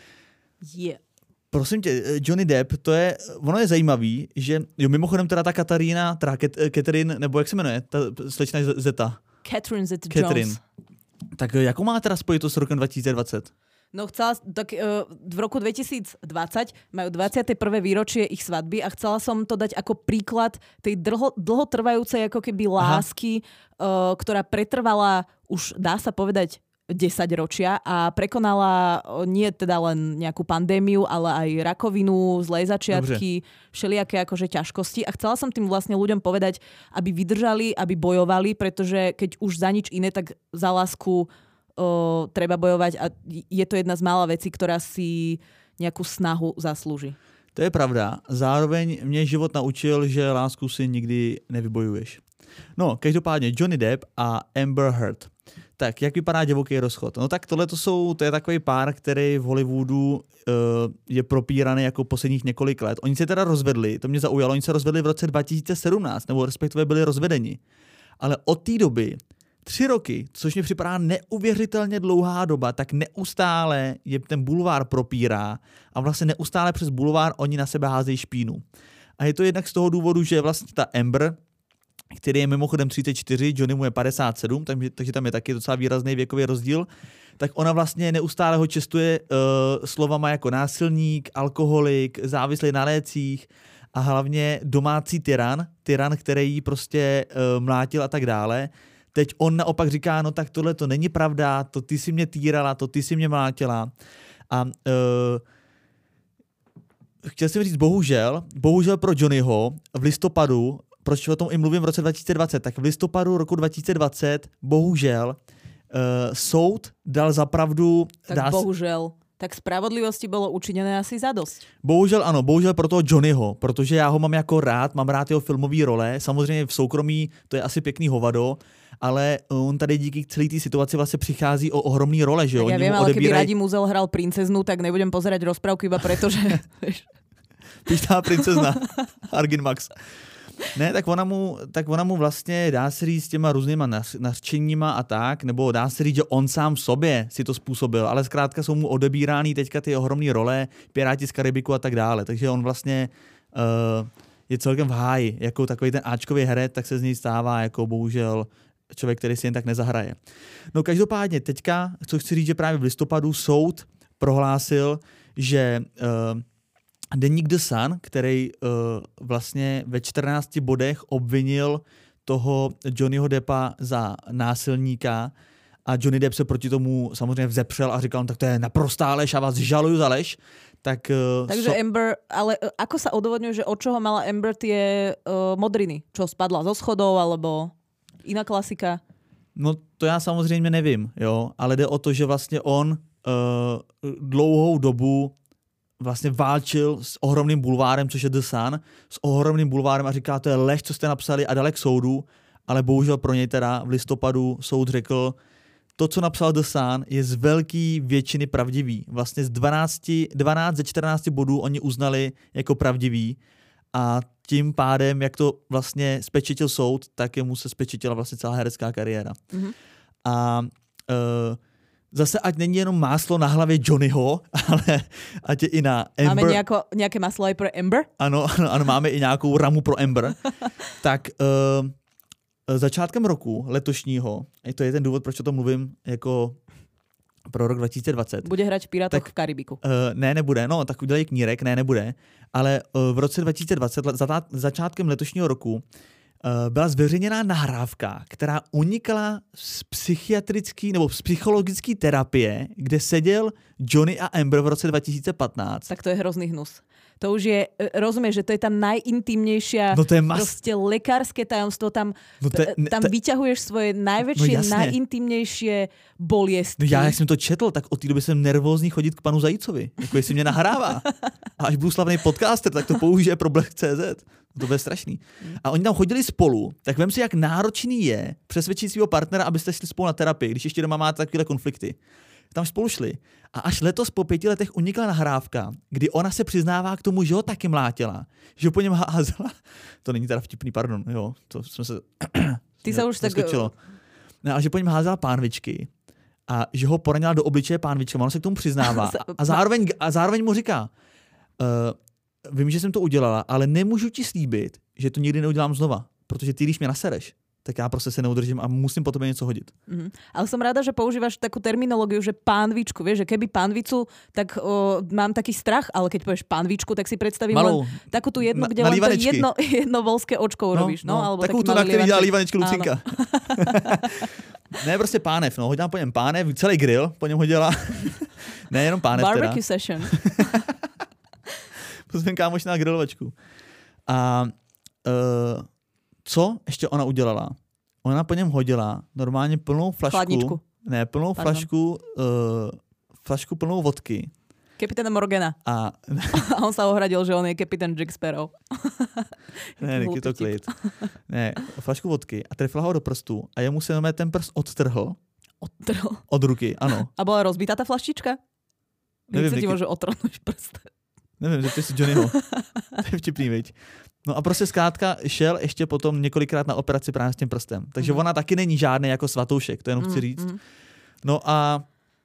Yeah. Prosím tě, Johnny Depp, to je, ono je zajímavý, že, jo, mimochodem teda ta Katarína, teda Catherine, nebo jak se jmenuje, ta slečna Zeta? Catherine Zeta-Jones. Tak jakou má teda spojitost s rokem dva tisíce dvacet? No chcela, tak uh, v roku dvetisícdvadsať majú dvadsiate prvé výročie ich svadby a chcela som to dať ako príklad tej dlho, dlhotrvajúcej ako keby lásky, uh, ktorá pretrvala už, dá sa povedať, desať ročia a prekonala uh, nie teda len nejakú pandémiu, ale aj rakovinu, zlé začiatky, Dobre. všelijaké akože ťažkosti a chcela som tým vlastne ľuďom povedať, aby vydržali, aby bojovali, pretože keď už za nič iné, tak za lásku O, treba bojovať a je to jedna z mála vecí, ktorá si nejakú snahu zaslúži. To je pravda. Zároveň mě život naučil, že lásku si nikdy nevybojuješ. No, každopádně Johnny Depp a Amber Heard. Tak, jak vypadá divoký rozchod? No tak tohle jsou, to je takový pár, který v Hollywoodu uh, je propíraný jako posledních několik let. Oni se teda rozvedli, to mě zaujalo, oni se rozvedli v roce dva tisíce sedmnáct, nebo respektive byli rozvedeni. Ale od té doby Tři roky, což mi připadá neuvěřitelně dlouhá doba, tak neustále je ten bulvár propírá a vlastně neustále přes bulvár oni na sebe házejí špínu. A je to jednak z toho důvodu, že vlastně ta Amber, který je mimochodem třicet čtyři, Johnny mu je padesát sedm, takže, takže tam je taky docela výrazný věkový rozdíl, tak ona vlastně neustále ho čestuje uh, slovama jako násilník, alkoholik, závislý na lécích a hlavně domácí tyran, tyran, který jí prostě uh, mlátil a tak dále. Teď on naopak říká, no tak tohle to není pravda, to ty si mě týrala, to ty si mě mlátila. A uh, chtěl jsem říct, bohužel, bohužel pro Johnnyho v listopadu, proč o tom i mluvím v roce dva tisíce dvacet, tak v listopadu roku dva tisíce dvacet, bohužel, uh, soud dal za pravdu... Tak dá bohužel. Tak spravodlivosti bylo učiněné asi zadost. Bohužel ano, bohužel pro toho Johnnyho, protože já ho mám jako rád, mám rád jeho filmové role, samozřejmě v soukromí to je asi pěkný hovado, ale on tady díky celé té situaci vlastně přichází o ohromný role, že jo? Tak ja viem, ale odebíraj... keby Radim Uzel hral princeznu, tak nebudem pozerať rozprávku iba preto, že... Pyštá princezna, Argin Max. Ne, tak ona, mu, tak ona mu vlastně dá se říct s těma různýma nařčeníma a tak, nebo dá se říct, že on sám v sobě si to způsobil, ale zkrátka jsou mu odebírány teďka ty ohromné role, Piráti z Karibiku a tak dále, takže on vlastně uh, je celkem v háji, jako takový ten áčkový herec, tak se z něj stává jako bohužel člověk, který si jen tak nezahraje. No každopádně teďka, co chci říct, že právě v listopadu soud prohlásil, že uh, deník The Sun, který uh, vlastně ve čtrnácti bodech obvinil toho Johnnyho Deppa za násilníka a Johnny Depp se proti tomu samozřejmě vzepřel a říkal, no, tak to je naprostá lež a vás žaluju za lež. Tak, uh, Takže so... Amber, ale uh, ako sa odôvodňuje, že od čoho mala Amber tie uh, modriny? Čo, spadla zo schodov alebo iná klasika? No to já samozřejmě nevím, jo, ale jde o to, že vlastně on uh, dlouhou dobu vlastně válčil s ohromným bulvárem, což je The Sun, s ohromným bulvárem a říká, to je lež, co jste napsali a dal k soudu, ale bohužel pro něj teda v listopadu soud řekl, to, co napsal The Sun, je z velké většiny pravdivý. Vlastně z dvanácti, dvanáct ze čtrnácti bodů oni uznali jako pravdivý a tím pádem, jak to vlastně spečetil soud, tak jemu se spečetila vlastně celá herecká kariéra. Mm-hmm. A uh, zase ať není jenom máslo na hlavě Johnnyho, ale ať je i na Amber. Máme nějako, nějaké máslo i pro Amber? Ano, ano, ano, máme i nějakou ramu pro Amber. Tak uh, začátkem roku letošního, to je ten důvod, proč o tom mluvím jako pro rok dva tisíce dvacet. Bude hrať v Pirátoch v Karibiku. Uh, ne, nebude, no tak udělají knírek, ne, nebude. Ale uh, v roce dva tisíce dvacet, za, začátkem letošního roku, Uh, byla zveřejněná nahrávka, která unikla z psychiatrické nebo z psychologické terapie, kde seděl Johnny a Amber v roce dva tisíce patnáct. Tak to je hrozný hnus. To už je, rozumieš, že to je tam najintimnejšia, no to je mas... proste lekárske tajomstvo, tam, no to je, tam to... vyťahuješ svoje najväčšie, no najintimnejšie boliestky. No já, jak jsem to četl, tak od té doby jsem nervózní chodit k panu Zajícovi, jako jestli mě nahrává. A až budu slavný podcaster, tak to použije pro Black tečka cé zet. To bude strašný. A oni tam chodili spolu, tak vem si, jak náročný je přesvědčit svého partnera, abyste šli spolu na terapii, když ještě doma máte takové konflikty. Tam spolu šli. A až letos po pěti letech unikla nahrávka, kdy ona se přiznává k tomu, že ho taky mlátila. Že ho po něm házela. To není teda vtipný, pardon. Jo, to jsme se... Ty se už tak... No, ale že po něm házela pánvičky a že ho poranila do obličeje pánvičkama. On se k tomu přiznává. A zároveň, a zároveň mu říká, uh, vím, že jsem to udělala, ale nemůžu ti slíbit, že to nikdy neudělám znova. Protože ty, když mě nasereš, tak já prostě se neudržím a musím po tebe něco hodit. Mm. Ale som rada, že používaš takú terminológiu, že pánvičku, vieš, že keby pánvicu, tak o, mám taký strach, ale keď povieš pánvičku, tak si predstavím Malou, len takú tú jednu, na, kde na len to jedno, jedno volské očko no, robíš. No, no, alebo takú taký tu, na který dělá lievanček. lívanečku Lucinka. Ne, prostě pánev, no, hodím po něm pánev, celý grill po něm hodila. Ne, jenom pánev teda. Barbecue session. Pozvím kámoš na grilovačku. A uh, co ještě ona udělala? Ona po něm hodila normálně plnou flašku. Chladničku. Ne, plnou Pardon. flašku, uh, flašku plnou vodky. Kapitána Morgana. A, a on sa ohradil, že on je kapitán Jack Sparrow. Ne, Niky to klid. Ne, flašku vodky a trefila ho do prstu a jemu se jenom ten prst odtrhl. Odtrhl? Od ruky, ano. A byla rozbitá ta flaštička? Nevím, Jak se ti Niky... může otrhnout prst? Nevím, zeptej si Johnnyho. To je vtipný, viď? No a prostě zkrátka šel ještě potom několikrát na operaci právě s tím prstem. Takže mm. ona taky není žádný jako svatoušek, to jenom chci říct. Mm. No a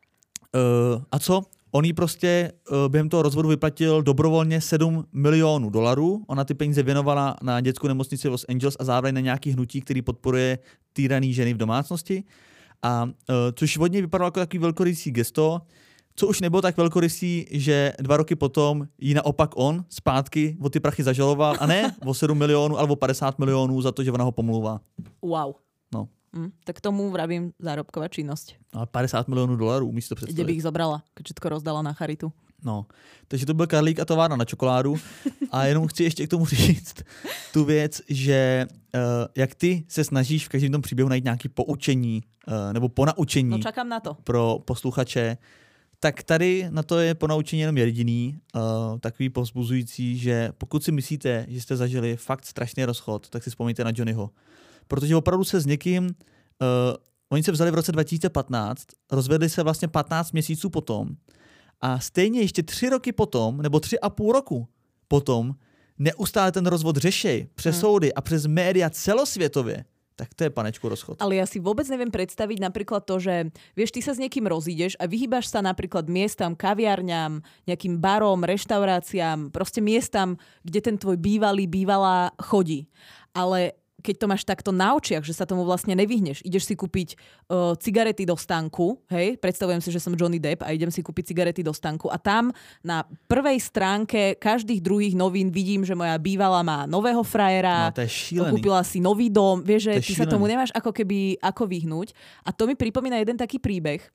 uh, a co? On jí prostě uh, během toho rozvodu vyplatil dobrovolně sedm milionů dolarů. Ona ty peníze věnovala na dětskou nemocnici Los Angeles a zároveň na nějaký hnutí, který podporuje týraný ženy v domácnosti. A uh, což od něj vypadalo jako takový velkorysý gesto, co už nebylo tak velkorysý, že dva roky potom jí naopak on zpátky o ty prachy zažaloval. A ne o sedm milionů, ale o padesát milionů za to, že ona ho pomlouvá. Wow. No. Mm, tak tomu vravím zárobková činnosť. A padesát milionů dolarů, umíš to představit. Kde bych ich zobrala, keď všetko rozdala na charitu. No, takže to byl Karlík a továrna na čokoládu. A jenom chci ještě k tomu říct tu věc, že uh, jak ty se snažíš v každém tom příběhu najít nějaké poučení uh, nebo ponaučení no, čakám na to. Pro posluchače, tak tady na to je ponaučení jenom jediný, uh, takový povzbuzující, že pokud si myslíte, že jste zažili fakt strašný rozchod, tak si vzpomeňte na Johnnyho. Protože opravdu se s někým, uh, oni se vzali v roce dva tisíce patnáct, rozvedli se vlastně patnáct měsíců potom a stejně ještě tři roky potom, nebo tři a půl roku potom, neustále ten rozvod řešej přes hmm. soudy a přes média celosvětově. Tak to je, panečku, rozchod. Ale ja si vôbec neviem predstaviť napríklad to, že vieš, ty sa s niekým rozídeš a vyhýbaš sa napríklad miestam, kaviarňam, nejakým barom, reštauráciám, proste miestam, kde ten tvoj bývalý, bývalá chodí. Ale keď to máš takto na očiach, že sa tomu vlastne nevyhneš, ideš si kúpiť uh, cigarety do stánku, hej, predstavujem si, že som Johnny Depp a idem si kúpiť cigarety do stánku a tam na prvej stránke každých druhých novín vidím, že moja bývalá má nového frajera, no, to je šílený. Kúpila si nový dom, vieš, že to ty šílený. sa tomu nemáš ako keby ako vyhnúť. A to mi pripomína jeden taký príbeh,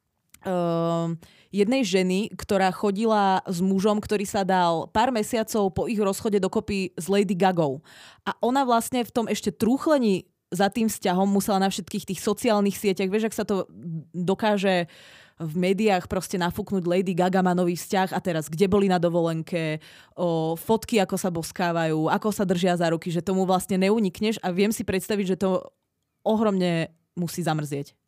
Uh, jednej ženy, ktorá chodila s mužom, ktorý sa dal pár mesiacov po ich rozchode dokopy s Lady Gagou. A ona vlastne v tom ešte trúchlení za tým vzťahom musela na všetkých tých sociálnych sieťach, vieš, ak sa to dokáže v médiách proste nafúknuť, Lady Gaga má nový vzťah a teraz kde boli na dovolenke, o, fotky, ako sa boskávajú, ako sa držia za ruky, že tomu vlastne neunikneš a viem si predstaviť, že to ohromne musí zamrzieť.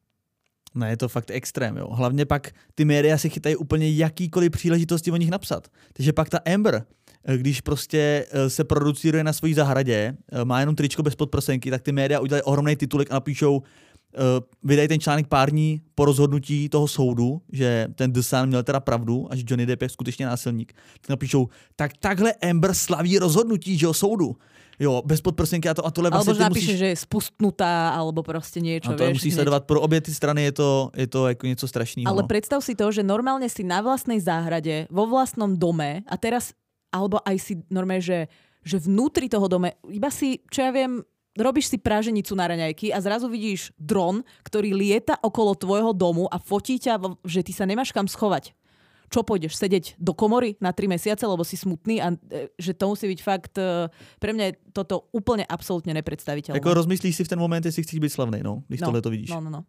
Ne, je to fakt extrém, jo. Hlavně pak ty média si chytají úplně jakýkoliv příležitosti o nich napsat. Takže pak ta Amber, když prostě se producíruje na svojí zahradě, má jenom tričko bez podprsenky, tak ty média udělají ohromný titulek a napíšou, vydají ten článek pár dní po rozhodnutí toho soudu, že ten The Sun měl teda pravdu a že Johnny Depp je skutečně násilník. Tak napíšou, tak takhle Amber slaví rozhodnutí, že o soudu. Jo, bez podprsenky a to a tohle vlastně ty napíše, musíš... že je spustnutá, alebo prostě niečo, a to vieš. musíš hneď. sledovat pro obě ty strany, je to, je to jako něco strašného. Ale predstav si to, že normálne si na vlastnej záhrade, vo vlastnom dome a teraz, alebo aj si normálne, že, že vnútri toho dome, iba si, čo ja viem, robíš si praženicu na raňajky a zrazu vidíš dron, ktorý lieta okolo tvojho domu a fotí ťa, že ty sa nemáš kam schovať. Čo pôjdeš? Sedieť do komory na tri mesiace, lebo si smutný a že to musí byť fakt, pre mňa je toto úplne absolútne nepredstaviteľné. Jako rozmyslíš si v ten moment, jestli chceš byť slavný, no, když no, tohle to vidíš. No, no, no.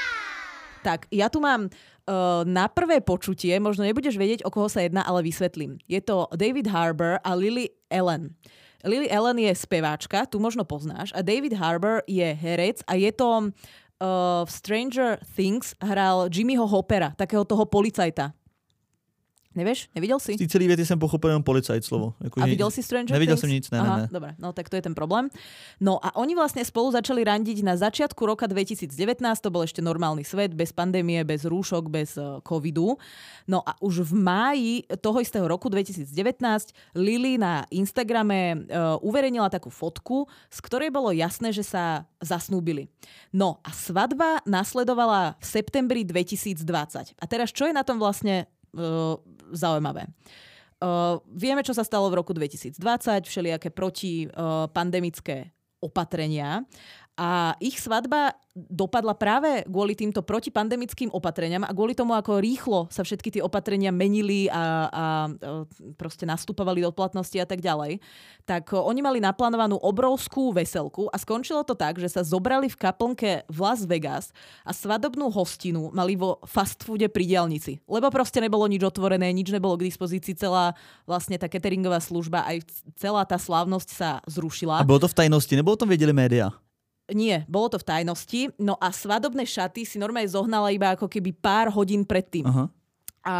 Tak, ja tu mám uh, na prvé počutie, možno nebudeš vedieť, o koho sa jedná, ale vysvetlím. Je to David Harbour a Lily Allen. Lily Allen je speváčka, tu možno poznáš, a David Harbour je herec a je to uh, v Stranger Things hral Jimmyho Hoppera, takého toho policajta. Nevieš? Nevidel si? Z té celé věty jsem pochopil jenom policajt slovo. Jako, a videl si Stranger Nevidel Things? jsem nic, ne, Aha, ne, ne. Dobre, no tak to je ten problém. No a oni vlastne spolu začali randiť na začiatku roka dvetisícdevätnásť, to bol ešte normálny svet, bez pandémie, bez rúšok, bez uh, covidu. No a už v máji toho istého roku dvetisícdevätnásť Lily na Instagrame uh, uverejnila takú fotku, z ktorej bolo jasné, že sa zasnúbili. No a svadba nasledovala v septembri dvetisícdvadsať. A teraz čo je na tom vlastne Uh, zaujímavé. Uh, vieme, čo sa stalo v roku dvetisícdvadsať, všelijaké protipandemické uh, opatrenia a ich svadba dopadla práve kvôli týmto protipandemickým opatreniam a kvôli tomu, ako rýchlo sa všetky tie opatrenia menili a, a, a proste nastupovali do platnosti a tak ďalej. Tak uh, oni mali naplánovanú obrovskú veselku a skončilo to tak, že sa zobrali v kaplnke v Las Vegas a svadobnú hostinu mali vo fast foode pri diaľnici. Lebo proste nebolo nič otvorené, nič nebolo k dispozícii, celá vlastne tá cateringová služba, aj celá tá slávnosť sa zrušila. A bolo to v tajnosti, nebo o tom vedeli média? Nie, bolo to v tajnosti. No a svadobné šaty si normálne zohnala iba ako keby pár hodín predtým. Aha. A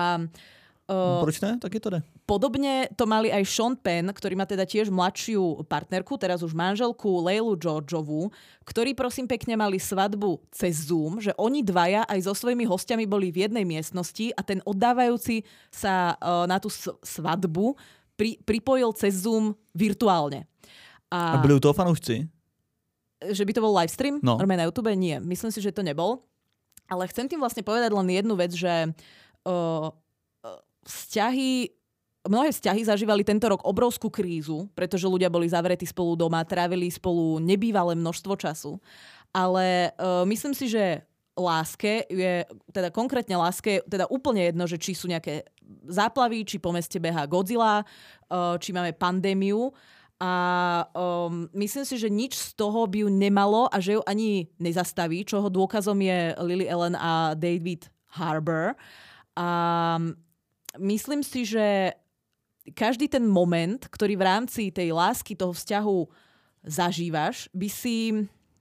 Uh, Proč ne? Tak je to ne. Podobne to mali aj Sean Penn, ktorý má teda tiež mladšiu partnerku, teraz už manželku Leilu Georgeovú, ktorí prosím pekne mali svadbu cez Zoom, že oni dvaja aj so svojimi hostiami boli v jednej miestnosti a ten oddávajúci sa uh, na tú svadbu pri, pripojil cez Zoom virtuálne. A, a byli u toho fanúšci? Že by to bol livestream? No. Normálne na YouTube? Nie. Myslím si, že to nebol. Ale chcem tým vlastne povedať len jednu vec, že uh, vzťahy, mnohé vzťahy zažívali tento rok obrovskú krízu, pretože ľudia boli zavretí spolu doma, trávili spolu nebývalé množstvo času. Ale uh, myslím si, že láske je, teda konkrétne láske je teda úplne jedno, že či sú nejaké záplavy, či po meste behá Godzilla, uh, či máme pandémiu. A um, myslím si, že nič z toho by ju nemalo a že ju ani nezastaví, čoho dôkazom je Lily Allen a David Harbour. A myslím si, že každý ten moment, ktorý v rámci tej lásky, toho vzťahu zažívaš, by si,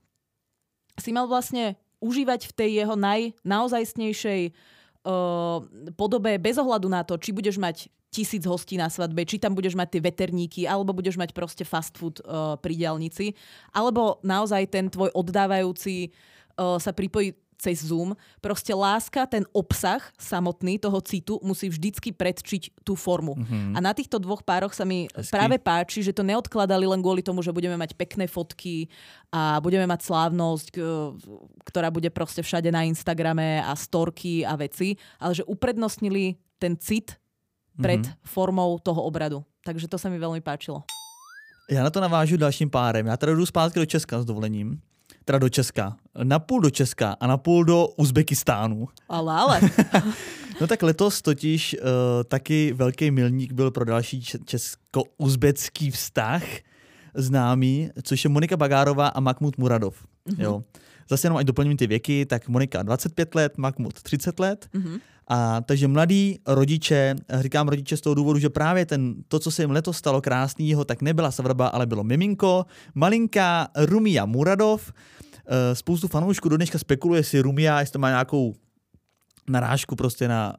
si mal vlastne užívať v tej jeho naj, naozajstnejšej uh, podobe bez ohľadu na to, či budeš mať tisíc hostí na svadbe, či tam budeš mať tie veterníky, alebo budeš mať proste fast food uh, pri diaľnici, alebo naozaj ten tvoj oddávajúci uh, sa pripojí cez Zoom. Proste láska, ten obsah samotný toho citu musí vždycky predčiť tú formu. Mm-hmm. A na týchto dvoch pároch sa mi Hezky. práve páči, že to neodkladali len kvôli tomu, že budeme mať pekné fotky a budeme mať slávnosť, ktorá bude proste všade na Instagrame a storky a veci, ale že uprednostnili ten cit pred mm-hmm. formou toho obradu. Takže to sa mi veľmi páčilo. Já na to navážu dalším párem. Já teda jdu zpátky do Česka s dovolením. Teda do Česka. Napůl do Česka a napůl do Uzbekistánu. Ale, ale. No tak letos totiž uh, taky velký milník byl pro další česko-uzbecký vztah známý, což je Monika Bagárová a Mahmud Muradov. Mm-hmm. Jo. Zase jenom ať doplním ty věky, tak Monika dvacet pět let, Mahmud třicet let. Mm-hmm. A takže mladí rodiče, říkám rodiče z toho důvodu, že právě ten, to, co se jim letos stalo krásnýho, tak nebyla svatba, ale bylo miminko, malinká Rumia Muradov. Spoustu fanoušků do dneška spekuluje, jestli Rumia, jestli to má nějakou narážku prostě na,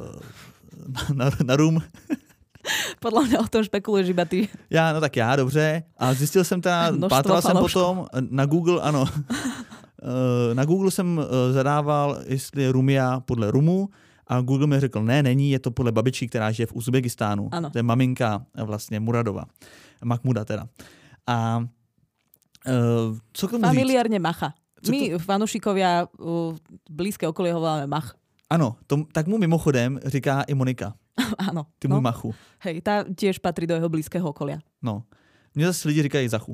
na, na rum. Podle mě o tom špekuluješ iba ty. Já, no tak já, dobře. A zjistil jsem teda, pátral jsem potom na Google, ano. Na Google jsem zadával, jestli je Rumia podle rumu, a Google mi řekl, ne, není, je to podle babičky, která žije v Uzbekistánu. Ano. To je maminka vlastně Muradova. Mahmuda teda. A uh, co k tomu říct? Familiárne Macha. Co My, to... fanúšikovia, uh, blízke okolie ho voláme Mach. Ano, to, tak mu mimochodem říká i Monika. Ano. Ty můj no. Machu. Hej, tá tiež patrí do jeho blízkeho okolia. No. Mně zase lidi říkají Zachu.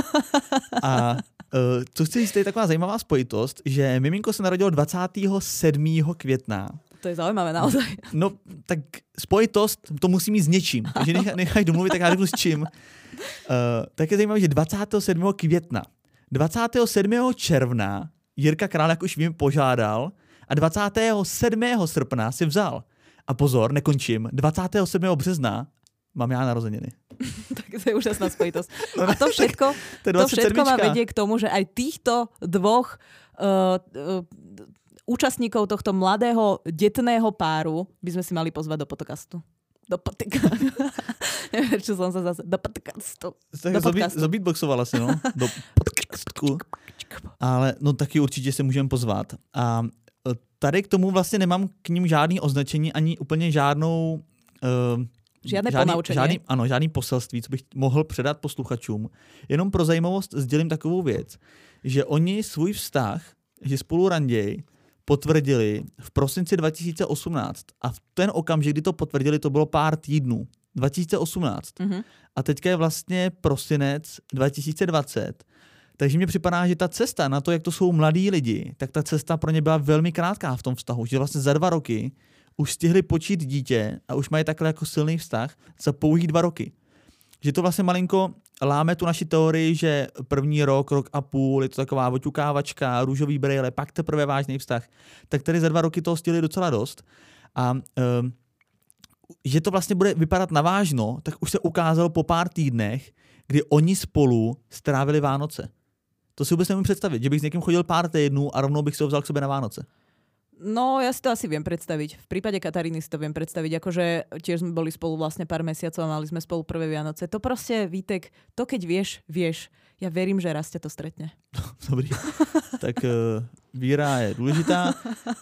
A uh, co chci říct, to je taková zajímavá spojitost, že miminko se narodilo dvacátého sedmého května. To je zaujímavé naozaj. No, tak spojitost to musí mít s něčím. Takže nechaj, nechaj domluvit, tak já řeknu s čím. Uh, tak je zajímavé, že dvacátého sedmého května, dvacátého sedmého června Jirka Král, jak už vím, požádal a dvacátého sedmého srpna si vzal. A pozor, nekončím, dvacátého sedmého března mám já narozeniny. Tak to je úžasná spojitosť. No, a to všetko, to, to všetko ma vedie k tomu, že aj týchto dvoch uh, uh, účastníkov tohto mladého detného páru by sme si mali pozvať do podcastu. Do podcastu. Neviem, čo som sa zase... Do podcastu. Do podcastu. Zabitboxovala si, no. Do podcastu. Ale no taky určitě se můžeme pozvat. A tady k tomu vlastně nemám k ním žádný označení, ani úplně žádnou... Uh, Žádné žádný, ponaučení. Žádný, ano, žádný poselství, co bych mohl předat posluchačům. Jenom pro zajímavost sdělím takovou věc, že oni svůj vztah, že spolu ranději, potvrdili v prosinci dva tisíce osmnáct. A v ten okamžik, kdy to potvrdili, to bylo pár týdnů. dva tisíce osmnáct. Mm-hmm. A teďka je vlastně prosinec dva tisíce dvacet. Takže mně připadá, že ta cesta na to, jak to jsou mladí lidi, tak ta cesta pro ně byla velmi krátká v tom vztahu. Že vlastně za dva roky už stihli počít dítě a už mají takhle jako silný vztah za pouhých dva roky. Že to vlastně malinko láme tu naši teorii, že první rok, rok a půl, je to taková oťukávačka, růžový brejle, pak teprve vážný vztah. Tak tady za dva roky toho stihli docela dost. A um, že to vlastně bude vypadat navážno, tak už se ukázalo po pár týdnech, kdy oni spolu strávili Vánoce. To si vůbec nemůžu představit, že bych s někým chodil pár týdnů a rovnou bych si ho vzal k sobě na Vánoce. No, ja si to asi viem predstaviť. V prípade Kataríny si to viem predstaviť. Akože tiež sme boli spolu vlastne pár mesiacov a mali sme spolu prvé Vianoce. To proste, Vítek, to keď vieš, vieš. Ja verím, že raz ťa to stretne. Dobrý. Tak uh, víra je dôležitá.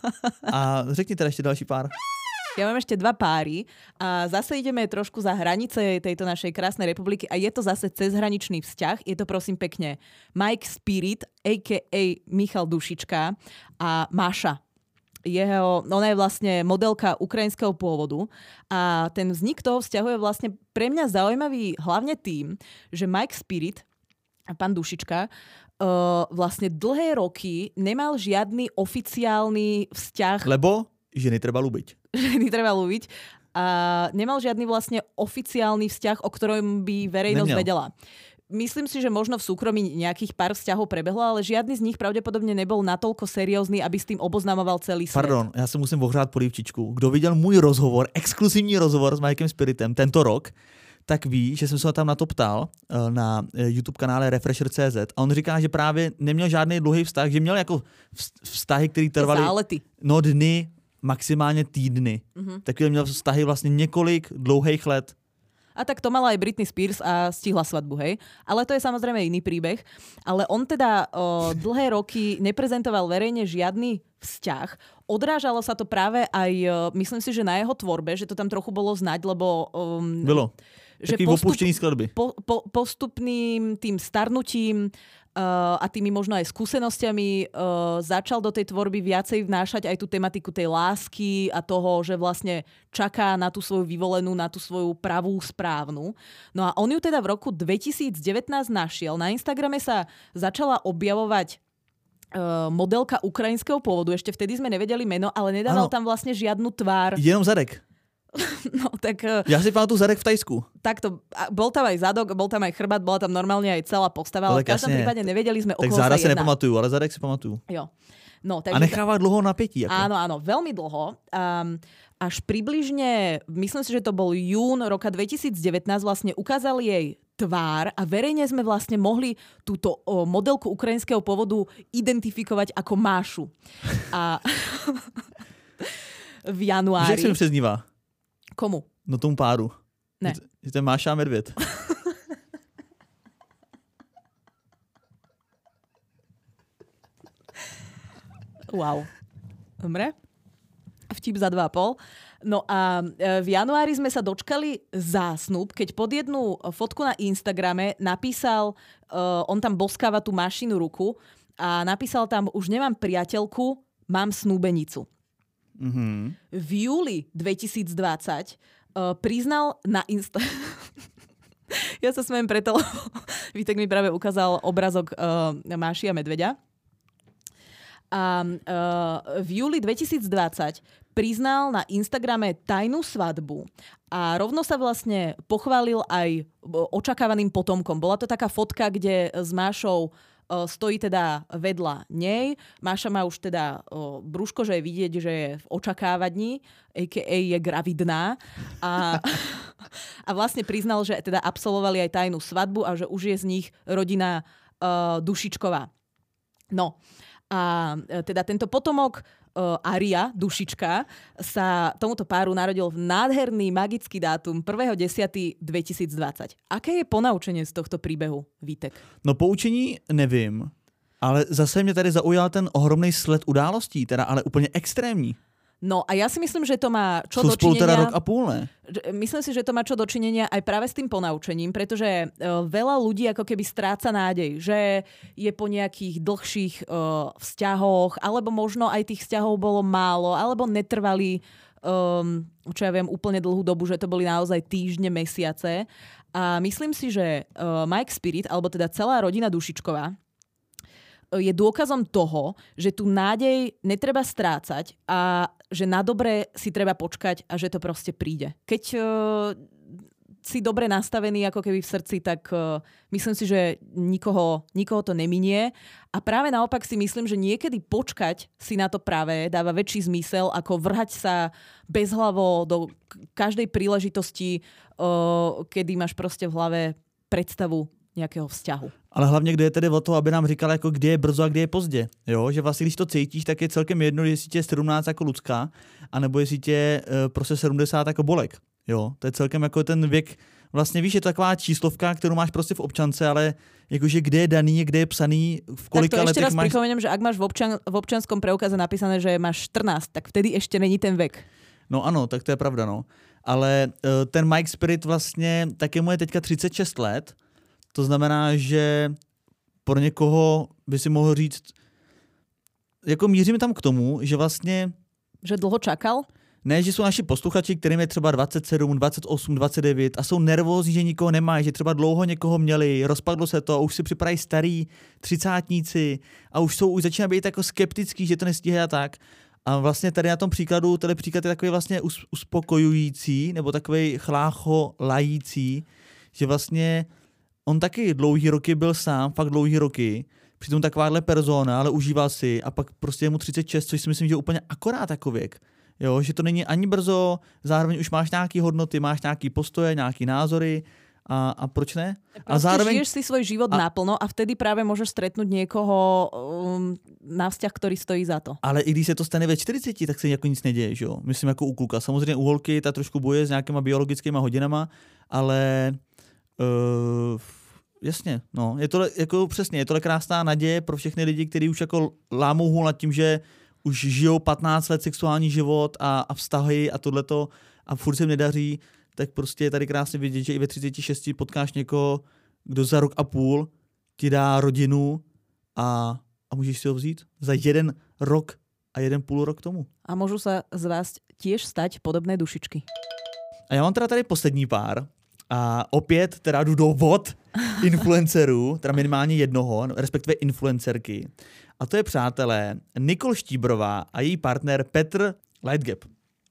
A řekni teda ešte další pár. Ja mám ešte dva páry a zase ideme trošku za hranice tejto našej krásnej republiky a je to zase cezhraničný vzťah. Je to prosím pekne Mike Spirit, á ká á Michal Dušička a Máša. Jeho, ona je vlastne modelka ukrajinského pôvodu a ten vznik toho vzťahu je vlastne pre mňa zaujímavý hlavne tým, že Mike Spirit, pán Dušička, uh, vlastne dlhé roky nemal žiadny oficiálny vzťah. Lebo ženy treba ľúbiť. Ženy treba ľúbiť. A nemal žiadny vlastne oficiálny vzťah, o ktorom by verejnosť Neměl. vedela. Myslím si, že možno v súkromí nejakých pár vzťahov prebehlo, ale žiadny z nich pravdepodobne nebol natoľko seriózny, aby s tým oboznamoval celý svet. Pardon, já se musím ohřát polívčičku. Kdo viděl můj rozhovor, exkluzivní rozhovor s Mikem Spiritem tento rok, tak ví, že jsem se ho tam na to ptal na YouTube kanále Refresher tečka cé zet a on říká, že právě neměl žádný dlouhý vztah, že měl jako vztahy, které trvaly Zálety. no dny, maximálně týdny. Mm-hmm. Takže měl vztahy vlastně několik dlouhých let. A tak to mala aj Britney Spears a stihla svadbu, hej. Ale to je samozrejme iný príbeh. Ale on teda o, dlhé roky neprezentoval verejne žiadny vzťah. Odrážalo sa to práve aj, o, myslím si, že na jeho tvorbe, že to tam trochu bolo znať, lebo... Um, Bylo. Taký postup, opuštený skladby. Po, po, postupným tým starnutím uh, a tými možno aj skúsenosťami uh, začal do tej tvorby viacej vnášať aj tú tematiku tej lásky a toho, že vlastne čaká na tú svoju vyvolenú, na tú svoju pravú správnu. No a on ju teda v roku dvetisícdevätnásť našiel. Na Instagrame sa začala objavovať uh, modelka ukrajinského pôvodu. Ešte vtedy sme nevedeli meno, ale nedával ano. tam vlastne žiadnu tvár. Jenom zadek. No, tak, ja si pamatuju zadek v Tajsku. Takto, bol tam aj zadok, bol tam aj chrbát, bola tam normálne aj celá postava, ale v každom prípade nevedeli sme, o koho sa jedná. Tak záda si nepamatujú, ale zadek si pamatujú. Jo. No, takže a nechává dlho napätí. Ako. Áno, áno, veľmi dlho. Um, až približne, myslím si, že to bol jún roka dvetisícdevätnásť, vlastne ukázali jej tvár a verejne sme vlastne mohli túto o, modelku ukrajinského pôvodu identifikovať ako Mášu. A v januári... Že jak sa mi přeznívá? Komu? No tomu páru. Ne. Že to je Máša a Medvěd. Wow. Dobre. Vtip za dva a pol. No a v januári sme sa dočkali zásnub, keď pod jednu fotku na Instagrame napísal, uh, on tam boskáva tú Mášinu ruku a napísal tam, už nemám priateľku, mám snúbenicu. Mm-hmm. V júli dvetisícdvadsať uh, priznal na Insta... Ja sa smejem preto, lebo Vítek mi práve ukázal obrazok uh, Máši a Medveďa. A uh, v júli dvetisícdvadsať priznal na Instagrame tajnú svadbu a rovno sa vlastne pochválil aj očakávaným potomkom. Bola to taká fotka, kde s Mášou stojí teda vedľa nej. Máša má už teda o, brúško, že je vidieť, že je v očakávaní, á ká á je gravidná. A, a vlastne priznal, že teda absolvovali aj tajnú svadbu a že už je z nich rodina uh, Dušičková. No. A teda tento potomok uh, Aria, dušička, sa tomuto páru narodil v nádherný magický dátum prvého desiateho dvetisícdvadsať. Aké je ponaučenie z tohto príbehu, Vítek? No poučení nevím, ale zase mě tady zaujal ten ohromný sled událostí, teda ale úplně extrémní. No a ja si myslím, že to má čo Sú dočinenia... spolu teda rok a púl, ne? Myslím si, že to má čo dočinenia aj práve s tým ponaučením, pretože uh, veľa ľudí ako keby stráca nádej, že je po nejakých dlhších uh, vzťahoch, alebo možno aj tých vzťahov bolo málo, alebo netrvali, um, čo ja viem, úplne dlhú dobu, že to boli naozaj týždne, mesiace. A myslím si, že uh, Mike Spirit, alebo teda celá rodina Dušičková, je dôkazom toho, že tu nádej netreba strácať a že na dobre si treba počkať a že to proste príde. Keď uh, si dobre nastavený ako keby v srdci, tak uh, myslím si, že nikoho, nikoho to neminie. A práve naopak si myslím, že niekedy počkať si na to práve dáva väčší zmysel, ako vrhať sa bezhlavo do každej príležitosti, uh, kedy máš proste v hlave predstavu nějakého vzťahu. Ale hlavně, kde je tedy o to, aby nám říkala, jako kde je brzo a kde je pozdě. Jo? Že vlastně, když to cítíš, tak je celkem jedno, jestli tě je sedmnáct jako Lucka, anebo jestli tě je uh, prostě sedmdesát jako Bolek. Jo? To je celkem jako ten věk, vlastně víš, je to taková číslovka, kterou máš prostě v občance, ale jakože kde je daný, kde je psaný, v kolika letech máš... Tak to ešte raz máš... pripomeniem, že ak máš v, občan, v občanskom preukaze napísané, že máš štrnásť, tak vtedy ešte není ten vek. No ano, tak to je pravda, no. Ale uh, ten Mike Spirit vlastně, taky mu je teďka třicet šest let. To znamená, že pro někoho by si mohl říct, jako míříme tam k tomu, že vlastně... Že dlouho čakal? Ne, že jsou naši posluchači, kterým je třeba dvacet sedm, dvacet osm, dvacet devět a jsou nervózní, že nikoho nemají, že třeba dlouho někoho měli, rozpadlo se to a už si připadají starý třicátníci a už jsou, už začínají být jako skeptický, že to nestíhají a tak. A vlastně tady na tom příkladu, tady příklad je takový vlastně uspokojující, nebo takový chlácho lající, že vlastně on taky dlouhý roky byl sám, fakt dlouhý roky, přitom takováhle persona, ale užíval si a pak prostě je mu třicet šest, což si myslím, že je úplně akorát jako věk. Jo, že to není ani brzo, zároveň už máš nějaký hodnoty, máš nějaký postoje, nějaký názory a, a proč ne? A zároveň žiješ si svoj život a... naplno a vtedy práve môžeš stretnúť niekoho um, na vzťah, ktorý stojí za to. Ale i když se to stane ve čtyřiceti, tak se jako nic neděje, že jo? Myslím jako u kluka. Samozřejmě u holky ta trošku boje s nějakýma biologickýma hodinama, ale uh, jasně, no, je to jako přesně, je to krásná naděje pro všechny lidi, kteří už jako lámou hůl nad tím, že už žijou patnáct let sexuální život a, a vztahy a tohleto a furt se jim nedaří, tak prostě je tady krásně vidět, že i ve třiceti šesti potkáš někoho, kdo za rok a půl ti dá rodinu a, a můžeš si ho vzít za jeden rok a jeden půl rok tomu. A můžu se z vás tiež stať podobné dušičky. A já mám teda tady poslední pár a opět teda jdu do vod influencerů, teda minimálně jednoho, respektive influencerky. A to je, přátelé, Nikol Štíbrová a její partner Petr Lightgap.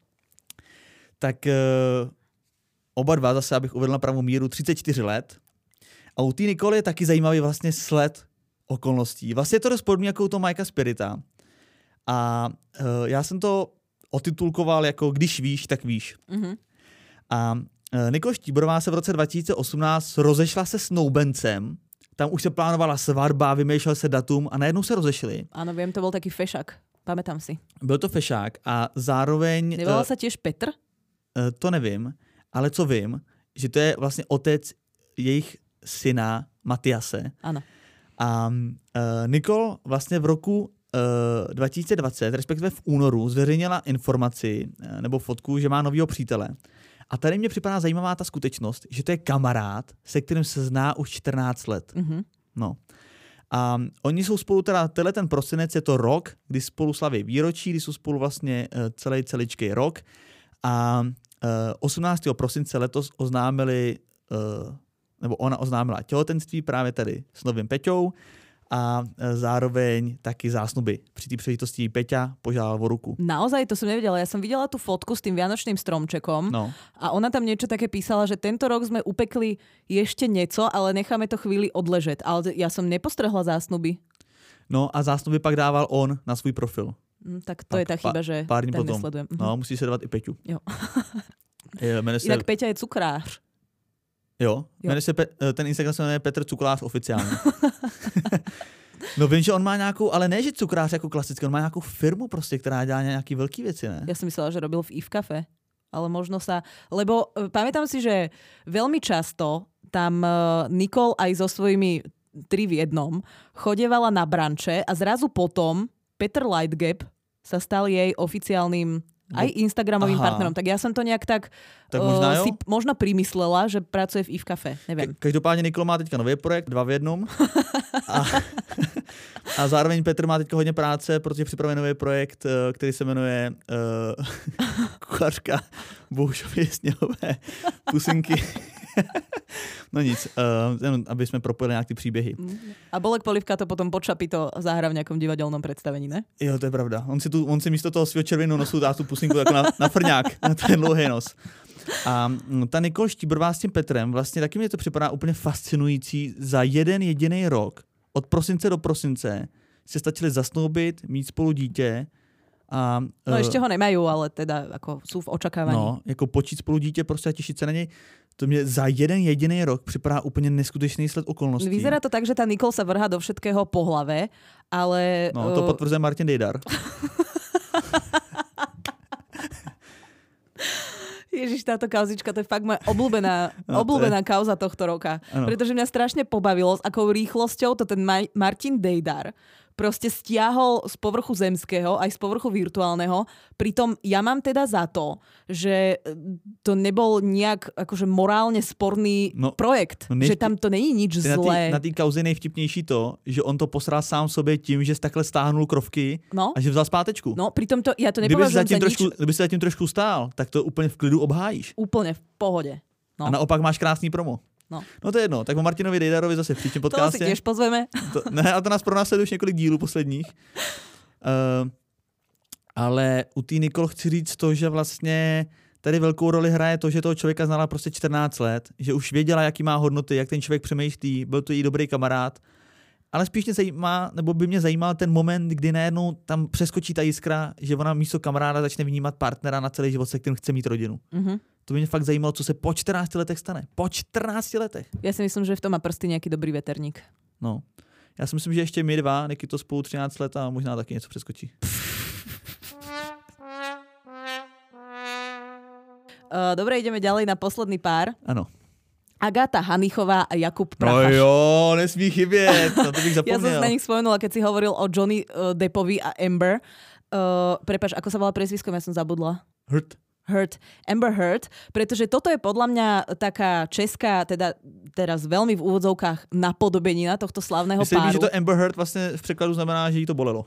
Tak uh, oba dva, zase abych uvedl na pravou míru, třicet čtyři let. A u té Nikol je taky zajímavý vlastně sled okolností. Vlastně je to dost podobný jako u toho Mikea Spirita. A uh, já jsem to otitulkoval jako Když víš, tak víš. Mm-hmm. A uh, Nikol Štíbrová se v roce dva tisíce osmnáct rozešla se snoubencem. Tam už se plánovala svatba, vymýšlel se datum a najednou se rozešli. Ano, vím, to byl taky fešák. Pamätám si. Byl to fešák a zároveň... Nevolal se těž Petr? To nevím, ale co vím, že to je vlastně otec jejich syna Matiase. Ano. A uh, Nikol vlastně v roku uh, dva tisíce dvacet, respektive v únoru, zveřejnila informaci uh, nebo fotku, že má novýho přítele. A tady mě připadá zajímavá ta skutečnost, že to je kamarád, se kterým se zná už čtrnáct let. Mm-hmm. No. A oni jsou spolu teda, tenhle ten prosinec je to rok, kdy spolu slaví výročí, kdy jsou spolu vlastně uh, celý celičký rok. A uh, osmnáctého prosince letos oznámili, uh, nebo ona oznámila těhotenství právě tady s novým Peťou a uh, zároveň taky zásnuby. Při té příležitosti Peťa požádal o ruku. Naozaj, to som nevedela. Ja som videla tú fotku s tým vianočným stromčekom no. A ona tam niečo také písala, že tento rok sme upekli ešte nieco, ale necháme to chvíli odležet. Ale ja som nepostrehla zásnuby. No a zásnuby pak dával on na svůj profil. Mm, tak to pak, je tá chyba, že pár dní ten potom. nesledujem. No, musí sledovat i Peťu. Jo. je, se... Inak Peťa je cukrář. Jo, jo. Se Pe- ten Instagram se jmenuje Petr Cuklář oficiálně. No vím, že on má nějakou, ale ne, že cukrář jako klasický, on má nějakou firmu prostě, která dělá nějaký velký věci, ne? Ja som myslela, že robil v I V Cafe, ale možno sa... Lebo uh, pamätám si, že veľmi často tam uh, Nicole aj so svojimi tri v jednom chodievala na branče a zrazu potom Peter Lightgap sa stal jej oficiálnym aj Instagramovým Aha. partnerom. Tak ja som to nejak tak, tak možná, uh, si možno primyslela, že pracuje v I V Cafe. Neviem. Ke- každopádně Nicole má teďka nový projekt, dva v jednom. A, a zároveň Petr má teďka hodně práce, protože připravuje nový projekt, který se jmenuje uh, Kuchařka Bohušově sněhové pusinky. No nic, uh, aby jsme propojili nějak ty příběhy. A Bolek Polivka to potom pod Šapito zahrá v nějakom divadelnom představení, ne? Jo, to je pravda. On si, tu, on si místo toho svého červeného nosu dá tu pusinku jako na, na frňák, na ten dlouhý nos. A ta Nicole Štíbrová s tím Petrem, vlastně taky mě to připadá úplně fascinující. Za jeden jediný rok, od prosince do prosince, se stačili zasnoubit, mít spolu dítě. A, no uh, ještě ho nemají, ale teda jako jsou v očekávání. No, jako počít spolu dítě prostě a těšit se na něj. To mě za jeden jediný rok připadá úplně neskutečný sled okolností. Vyzerá to tak, že ta Nicole sa vrhá do všetkého po hlave, ale... No, to potvrzuje Martin Dejdar. Ježiš, táto kauzička, to je fakt moja obľúbená, no, obľúbená je... kauza tohto roka. Ano. Pretože mňa strašne pobavilo, s akou rýchlosťou to ten Ma- Martin Dejdar proste stiahol z povrchu zemského, aj z povrchu virtuálneho. Pritom ja mám teda za to, že to nebol nejak akože morálne sporný no, projekt. No než... Že tam to není nič zlé. Na té kauze nejvtipnější to, že on to posral sám sobě tím, že takhle stáhnul krovky no? a že vzal zpátečku. No, pritom to, ja to nepovažujem za trošku, nič. Kdyby si zatím trošku stál, tak to úplně v klidu obhájíš. Úplne v pohode. No. A naopak máš krásný promo. No. no to je jedno, tak o Martinovi Dejdarovi zase v příštím podcastě. To si tiež pozveme. To, ne, a to nás pronásleduje už několik dílů posledních. Uh, ale u té Nicole chci říct to, že vlastně tady velkou roli hraje to, že toho člověka znala prostě čtrnáct let, že už věděla, jaký má hodnoty, jak ten člověk přemýšlí, byl to jí dobrý kamarád. Ale spíš mě zajímá, nebo by mě zajímal ten moment, kdy najednou tam přeskočí ta jiskra, že ona místo kamaráda začne vnímat partnera na celý život, se kterým chce mít rodinu. Mm-hmm. To by mě fakt zajímalo, co se po čtrnácti letech stane. Po čtrnácti letech. Já si myslím, že v tom má prsty nějaký dobrý veterník. No. Já si myslím, že ještě my dva, Niky to spolu třináct let a možná taky něco přeskočí. Uh, dobre, ideme ďalej na posledný pár. Ano. Agáta Hanichová a Jakub Prachař. No jo, nesmí chybět, no to bych zapomněl. Ja som na nich spomenula, keď si hovoril o Johnny uh, Deppovi a Amber. Uh, prepáč, ako sa volá priezviskom, ja som zabudla. Heard. Heard. Amber Heard, pretože toto je podľa mňa taká česká, teda teraz veľmi v úvodzovkách napodobenina tohto slavného Myslím, páru. Myslím, že to Amber Heard vlastne v prekladu znamená, že jí to bolelo.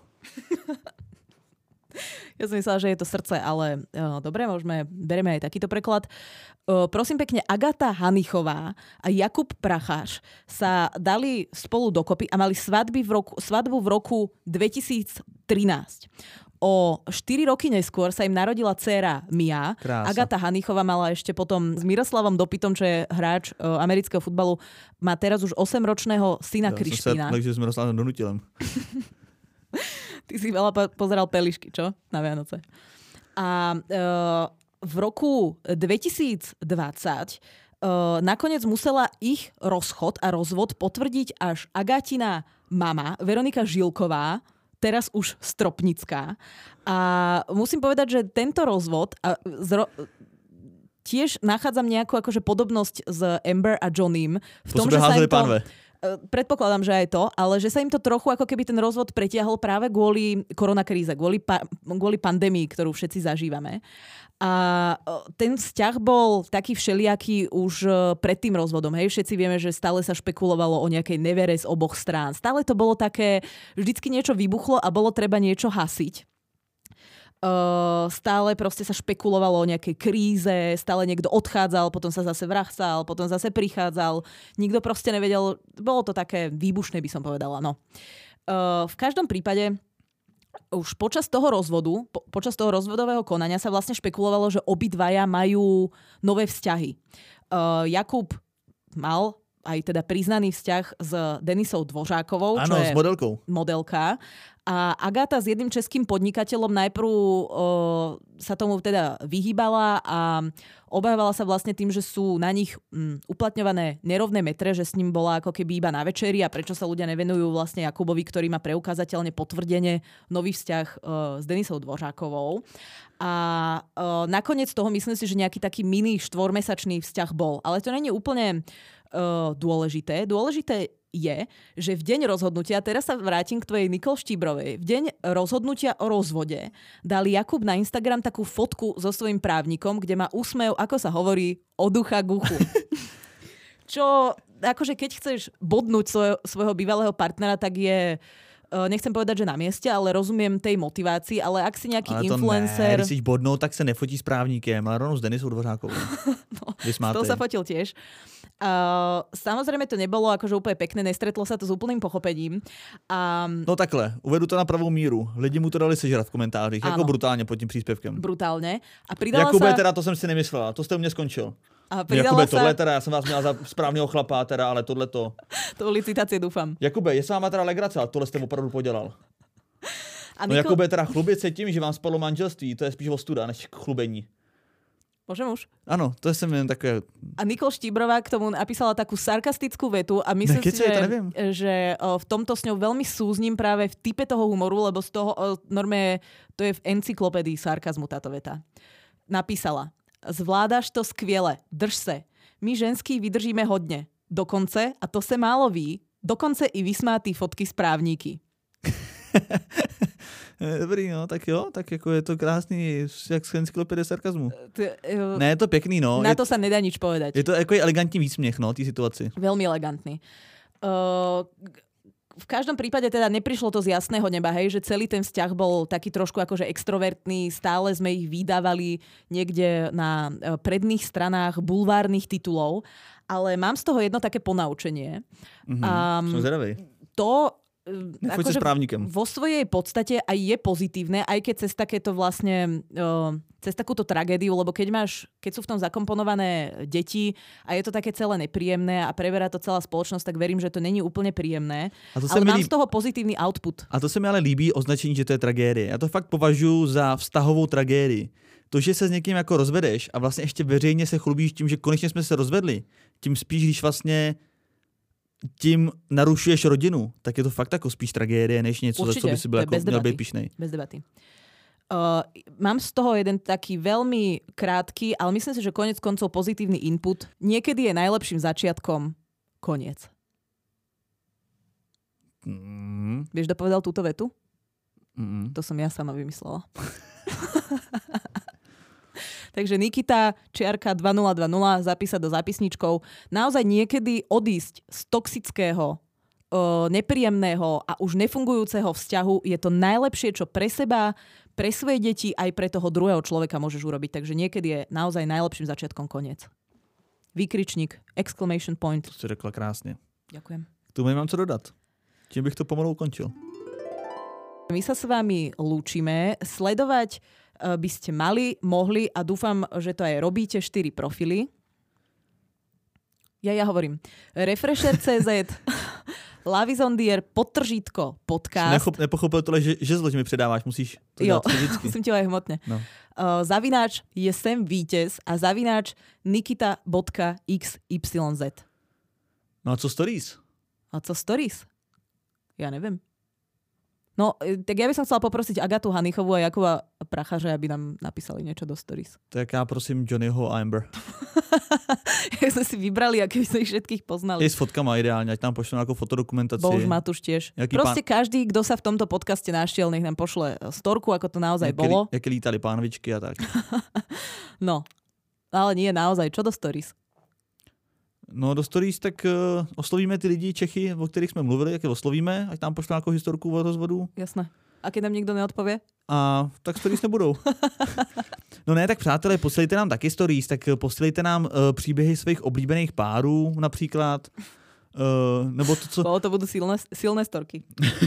Ja som myslela, že je to srdce, ale uh, dobre, môžeme, bereme aj takýto preklad. Uh, prosím pekne, Agáta Hanichová a Jakub Prachař sa dali spolu dokopy a mali svadby v roku, svadbu v roku dvetisíctrinásť. O štyri roky neskôr sa im narodila dcéra Mia. Krása. Agáta Hanichová mala ešte potom s Miroslavom Dopytom, čo je hráč uh, amerického futbalu, má teraz už osemročného syna ja, Krištína. Ja som sa takže s Miroslavom Donutilem. Ty si veľa pozeral Pelišky, čo? Na Vianoce. A uh, v roku dvetisícdvadsať uh, nakoniec musela ich rozchod a rozvod potvrdiť až Agátina mama, Veronika Žilková, teraz už Stropnická. A musím povedať, že tento rozvod a zro- tiež nachádzam nejakú akože podobnosť s Amber a Johnnym v tom, že sa im to... Pánve. Predpokladám, že aj to, ale že sa im to trochu ako keby ten rozvod pretiahol práve kvôli koronakríze, kvôli, pa- kvôli pandémii, ktorú všetci zažívame. A ten vzťah bol taký všelijaký už pred tým rozvodom. Hej? Všetci vieme, že stále sa špekulovalo o nejakej nevere z oboch strán. Stále to bolo také, vždycky niečo vybuchlo a bolo treba niečo hasiť. Uh, stále proste sa špekulovalo o nejakej kríze, stále niekto odchádzal, potom sa zase vracal, potom zase prichádzal. Nikto proste nevedel, bolo to také výbušné, by som povedala. No. Uh, v každom prípade už počas toho rozvodu, po, počas toho rozvodového konania sa vlastne špekulovalo, že obidvaja majú nové vzťahy. Uh, Jakub mal aj teda priznaný vzťah s Denisou Dvořákovou, ano, čo je s modelkou. modelka. A Agáta s jedným českým podnikateľom najprv o, sa tomu teda vyhýbala a obávala sa vlastne tým, že sú na nich m, uplatňované nerovné metre, že s ním bola ako keby iba na večeri a prečo sa ľudia nevenujú vlastne Jakubovi, ktorý má preukázateľne potvrdenie nový vzťah o, s Denisou Dvořákovou. A o, nakoniec toho myslím si, že nejaký taký mini štvormesačný vzťah bol. Ale to nie je úplne Uh, dôležité. Dôležité je, že v deň rozhodnutia, teraz sa vrátim k tvojej Nikol Štíbrovej, v deň rozhodnutia o rozvode dali Jakub na Instagram takú fotku so svojím právnikom, kde má úsmev, ako sa hovorí, od ucha k uchu. Čo, akože keď chceš bodnúť svoj, svojho bývalého partnera, tak je nechcem povedať, že na mieste, ale rozumiem tej motivácii, ale ak si nejaký ale influencer... Ne, když si bodnou, tak se nefotí s právníkem, ale rovnou s Denisou Dvořákovou. No, s tou sa fotil tiež. Uh, samozrejme to nebolo akože úplne pekné, nestretlo sa to s úplným pochopením. Um, no takhle, uvedu to na pravou míru. Lidi mu to dali sežrat v komentářích, áno, jako brutálně pod tím příspěvkem. Brutálně. A pridala Jakube, sa... teda to jsem si nemyslela, to jste u mě skončil. A Jakube, sa... tohle teda, já jsem vás měla za správného chlapa, teda, ale tohle to... To byly citácie, dúfam. Jakube, je s váma teda legrace, ale tohle jste opravdu podělal. A no Niko... Jakube, teda chlubit se tím, že vám spadlo manželství, to je spíš ostuda, než chlubení. Môžem už? Áno, to je sem jen také... A Nikol Štíbrová k tomu napísala takú sarkastickú vetu a myslím ne, si, že, že v tomto s ňou veľmi súzním práve v type toho humoru, lebo z toho norme to je v encyklopédii sarkazmu táto veta. Napísala: Zvládáš to skvěle, drž se. My ženský vydržíme hodně. Dokonce, a to se málo ví, dokonce i vysmátý fotky z právníky. Dobrý, no, tak jo, tak jako je to krásný, jak z encyklopédie sarkazmu. T- uh, ne, je to pekný, no. Na to sa nedá nič povedať. Je to jako elegantní výsměch, no, tý situaci. Veľmi elegantný. Uh, v každom prípade teda neprišlo to z jasného neba, hej, že celý ten vzťah bol taký trošku akože extrovertný, stále sme ich vydávali niekde na predných stranách bulvárnych titulov, ale mám z toho jedno také ponaučenie. Mm-hmm, um, som zvedavej. To akože vo svojej podstate aj je pozitívne, aj keď cez takéto vlastne, uh, cez takúto tragédiu, lebo keď máš, keď sú v tom zakomponované deti a je to také celé nepríjemné a preberá to celá spoločnosť, tak verím, že to není úplne príjemné. Ale mám líb... z toho pozitívny output. A to se mi ale líbí označení, že to je tragédie. Já to fakt považuji za vztahovou tragédii. To, že se s někým jako rozvedeš a vlastně ještě veřejně se chlubíš tím, že konečně jsme se rozvedli, tím spíš, když vlastně tím narušuješ rodinu, tak je to fakt jako spíš tragédie, než něco, za co by si byl jako, měl být pyšnej. Bez debaty. Uh, mám z toho jeden taký veľmi krátky, ale myslím si, že konec koncov pozitívny input. Niekedy je najlepším začiatkom koniec. Mm. Vieš, kto povedal túto vetu? Mm. To som ja sama vymyslela. Takže Nikita, čiarka dva nula dva nula, zapísať do zápisničkov. Naozaj niekedy odísť z toxického, uh, nepríjemného a už nefungujúceho vzťahu je to najlepšie, čo pre seba, pre svoje deti, aj pre toho druhého človeka môžeš urobiť. Takže niekedy je naozaj najlepším začiatkom koniec. Výkričník, exclamation point. To si řekla krásne. Ďakujem. K tomu nemám co dodat. Čím bych to pomalu ukončil. My sa s vami lúčime. Sledovať by ste mali, mohli a dúfam, že to aj robíte, štyri profily. Ja, ja hovorím. Refresher bodka cé zet, Love is on the air, podtržítko, podcast. Nechop, nepochopil tohle, že, že zloď mi předáváš, musíš to jo, dát fyzicky. musím ti ho aj hmotne. No. Uh, zavináč je sem vítěz a zavináč nikita bodka iks ypsilon zet. No a co stories? A co stories? Ja neviem. No, tak ja by som chcela poprosiť Agatu Hanichovú a Jakuba Prachaře, aby nám napísali niečo do stories. Tak ja prosím Johnnyho a Amber. Jak sme si vybrali, aké by sme ich všetkých poznali. Je s fotkama ideálne, ať nám pošlú nejakú fotodokumentáciu. Bož Matuš tiež. Jaký Proste pán... každý, kto sa v tomto podcaste našiel, nech nám pošle storku, ako to naozaj jaké, bolo. Jaké lítali pánvičky a tak. No, ale nie naozaj. Čo do stories? No do stories tak uh, oslovíme ty lidi Čechy, o kterých jsme mluvili, jak je oslovíme, ať nám pošlou nějakou historku o rozvodu. Jasné. A keď nám nikdo neodpovie? A tak stories nebudou. No ne, tak přátelé, posílejte nám taky stories, tak posílejte nám uh, příběhy svých oblíbených párů například. Uh, nebo to, co... Bo to budú silné, silné storky.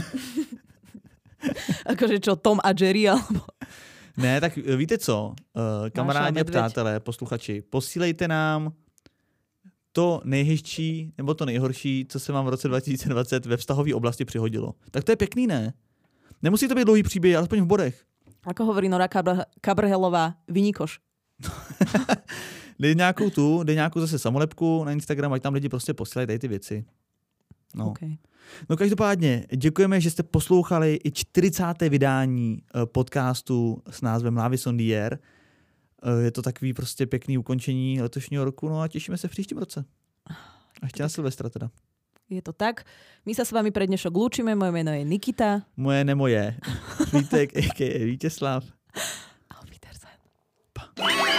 Akože čo, Tom a Jerry, alebo... Ne, tak víte co, uh, kamarádi a přátelé, posluchači, posílejte nám to nejhezčí nebo to nejhorší, co se vám v roce dva tisíce dvacet ve vztahové oblasti přihodilo. Tak to je pěkný, ne? Nemusí to být dlouhý příběh, alespoň v bodech. Ako hovorí Nora Kabrhelová, vyníkoš. Dej nějakou tu, dej nějakou zase samolepku na Instagram, ať tam lidi prostě posílají tady ty věci. No. Okay. No každopádně, děkujeme, že jste poslouchali i čtyřicáté vydání podcastu s názvem Lavis on the Air. Je to takový prostě pěkný ukončení letošního roku, no a těšíme se v příštím roce. A ještě na Silvestra teda. Je to tak. My sa s vami pre dnešok lúčime. Moje meno je Nikita. Moje nemoje. Vítek, a ká a Vítězslav. Auf Wiedersehen. Pa.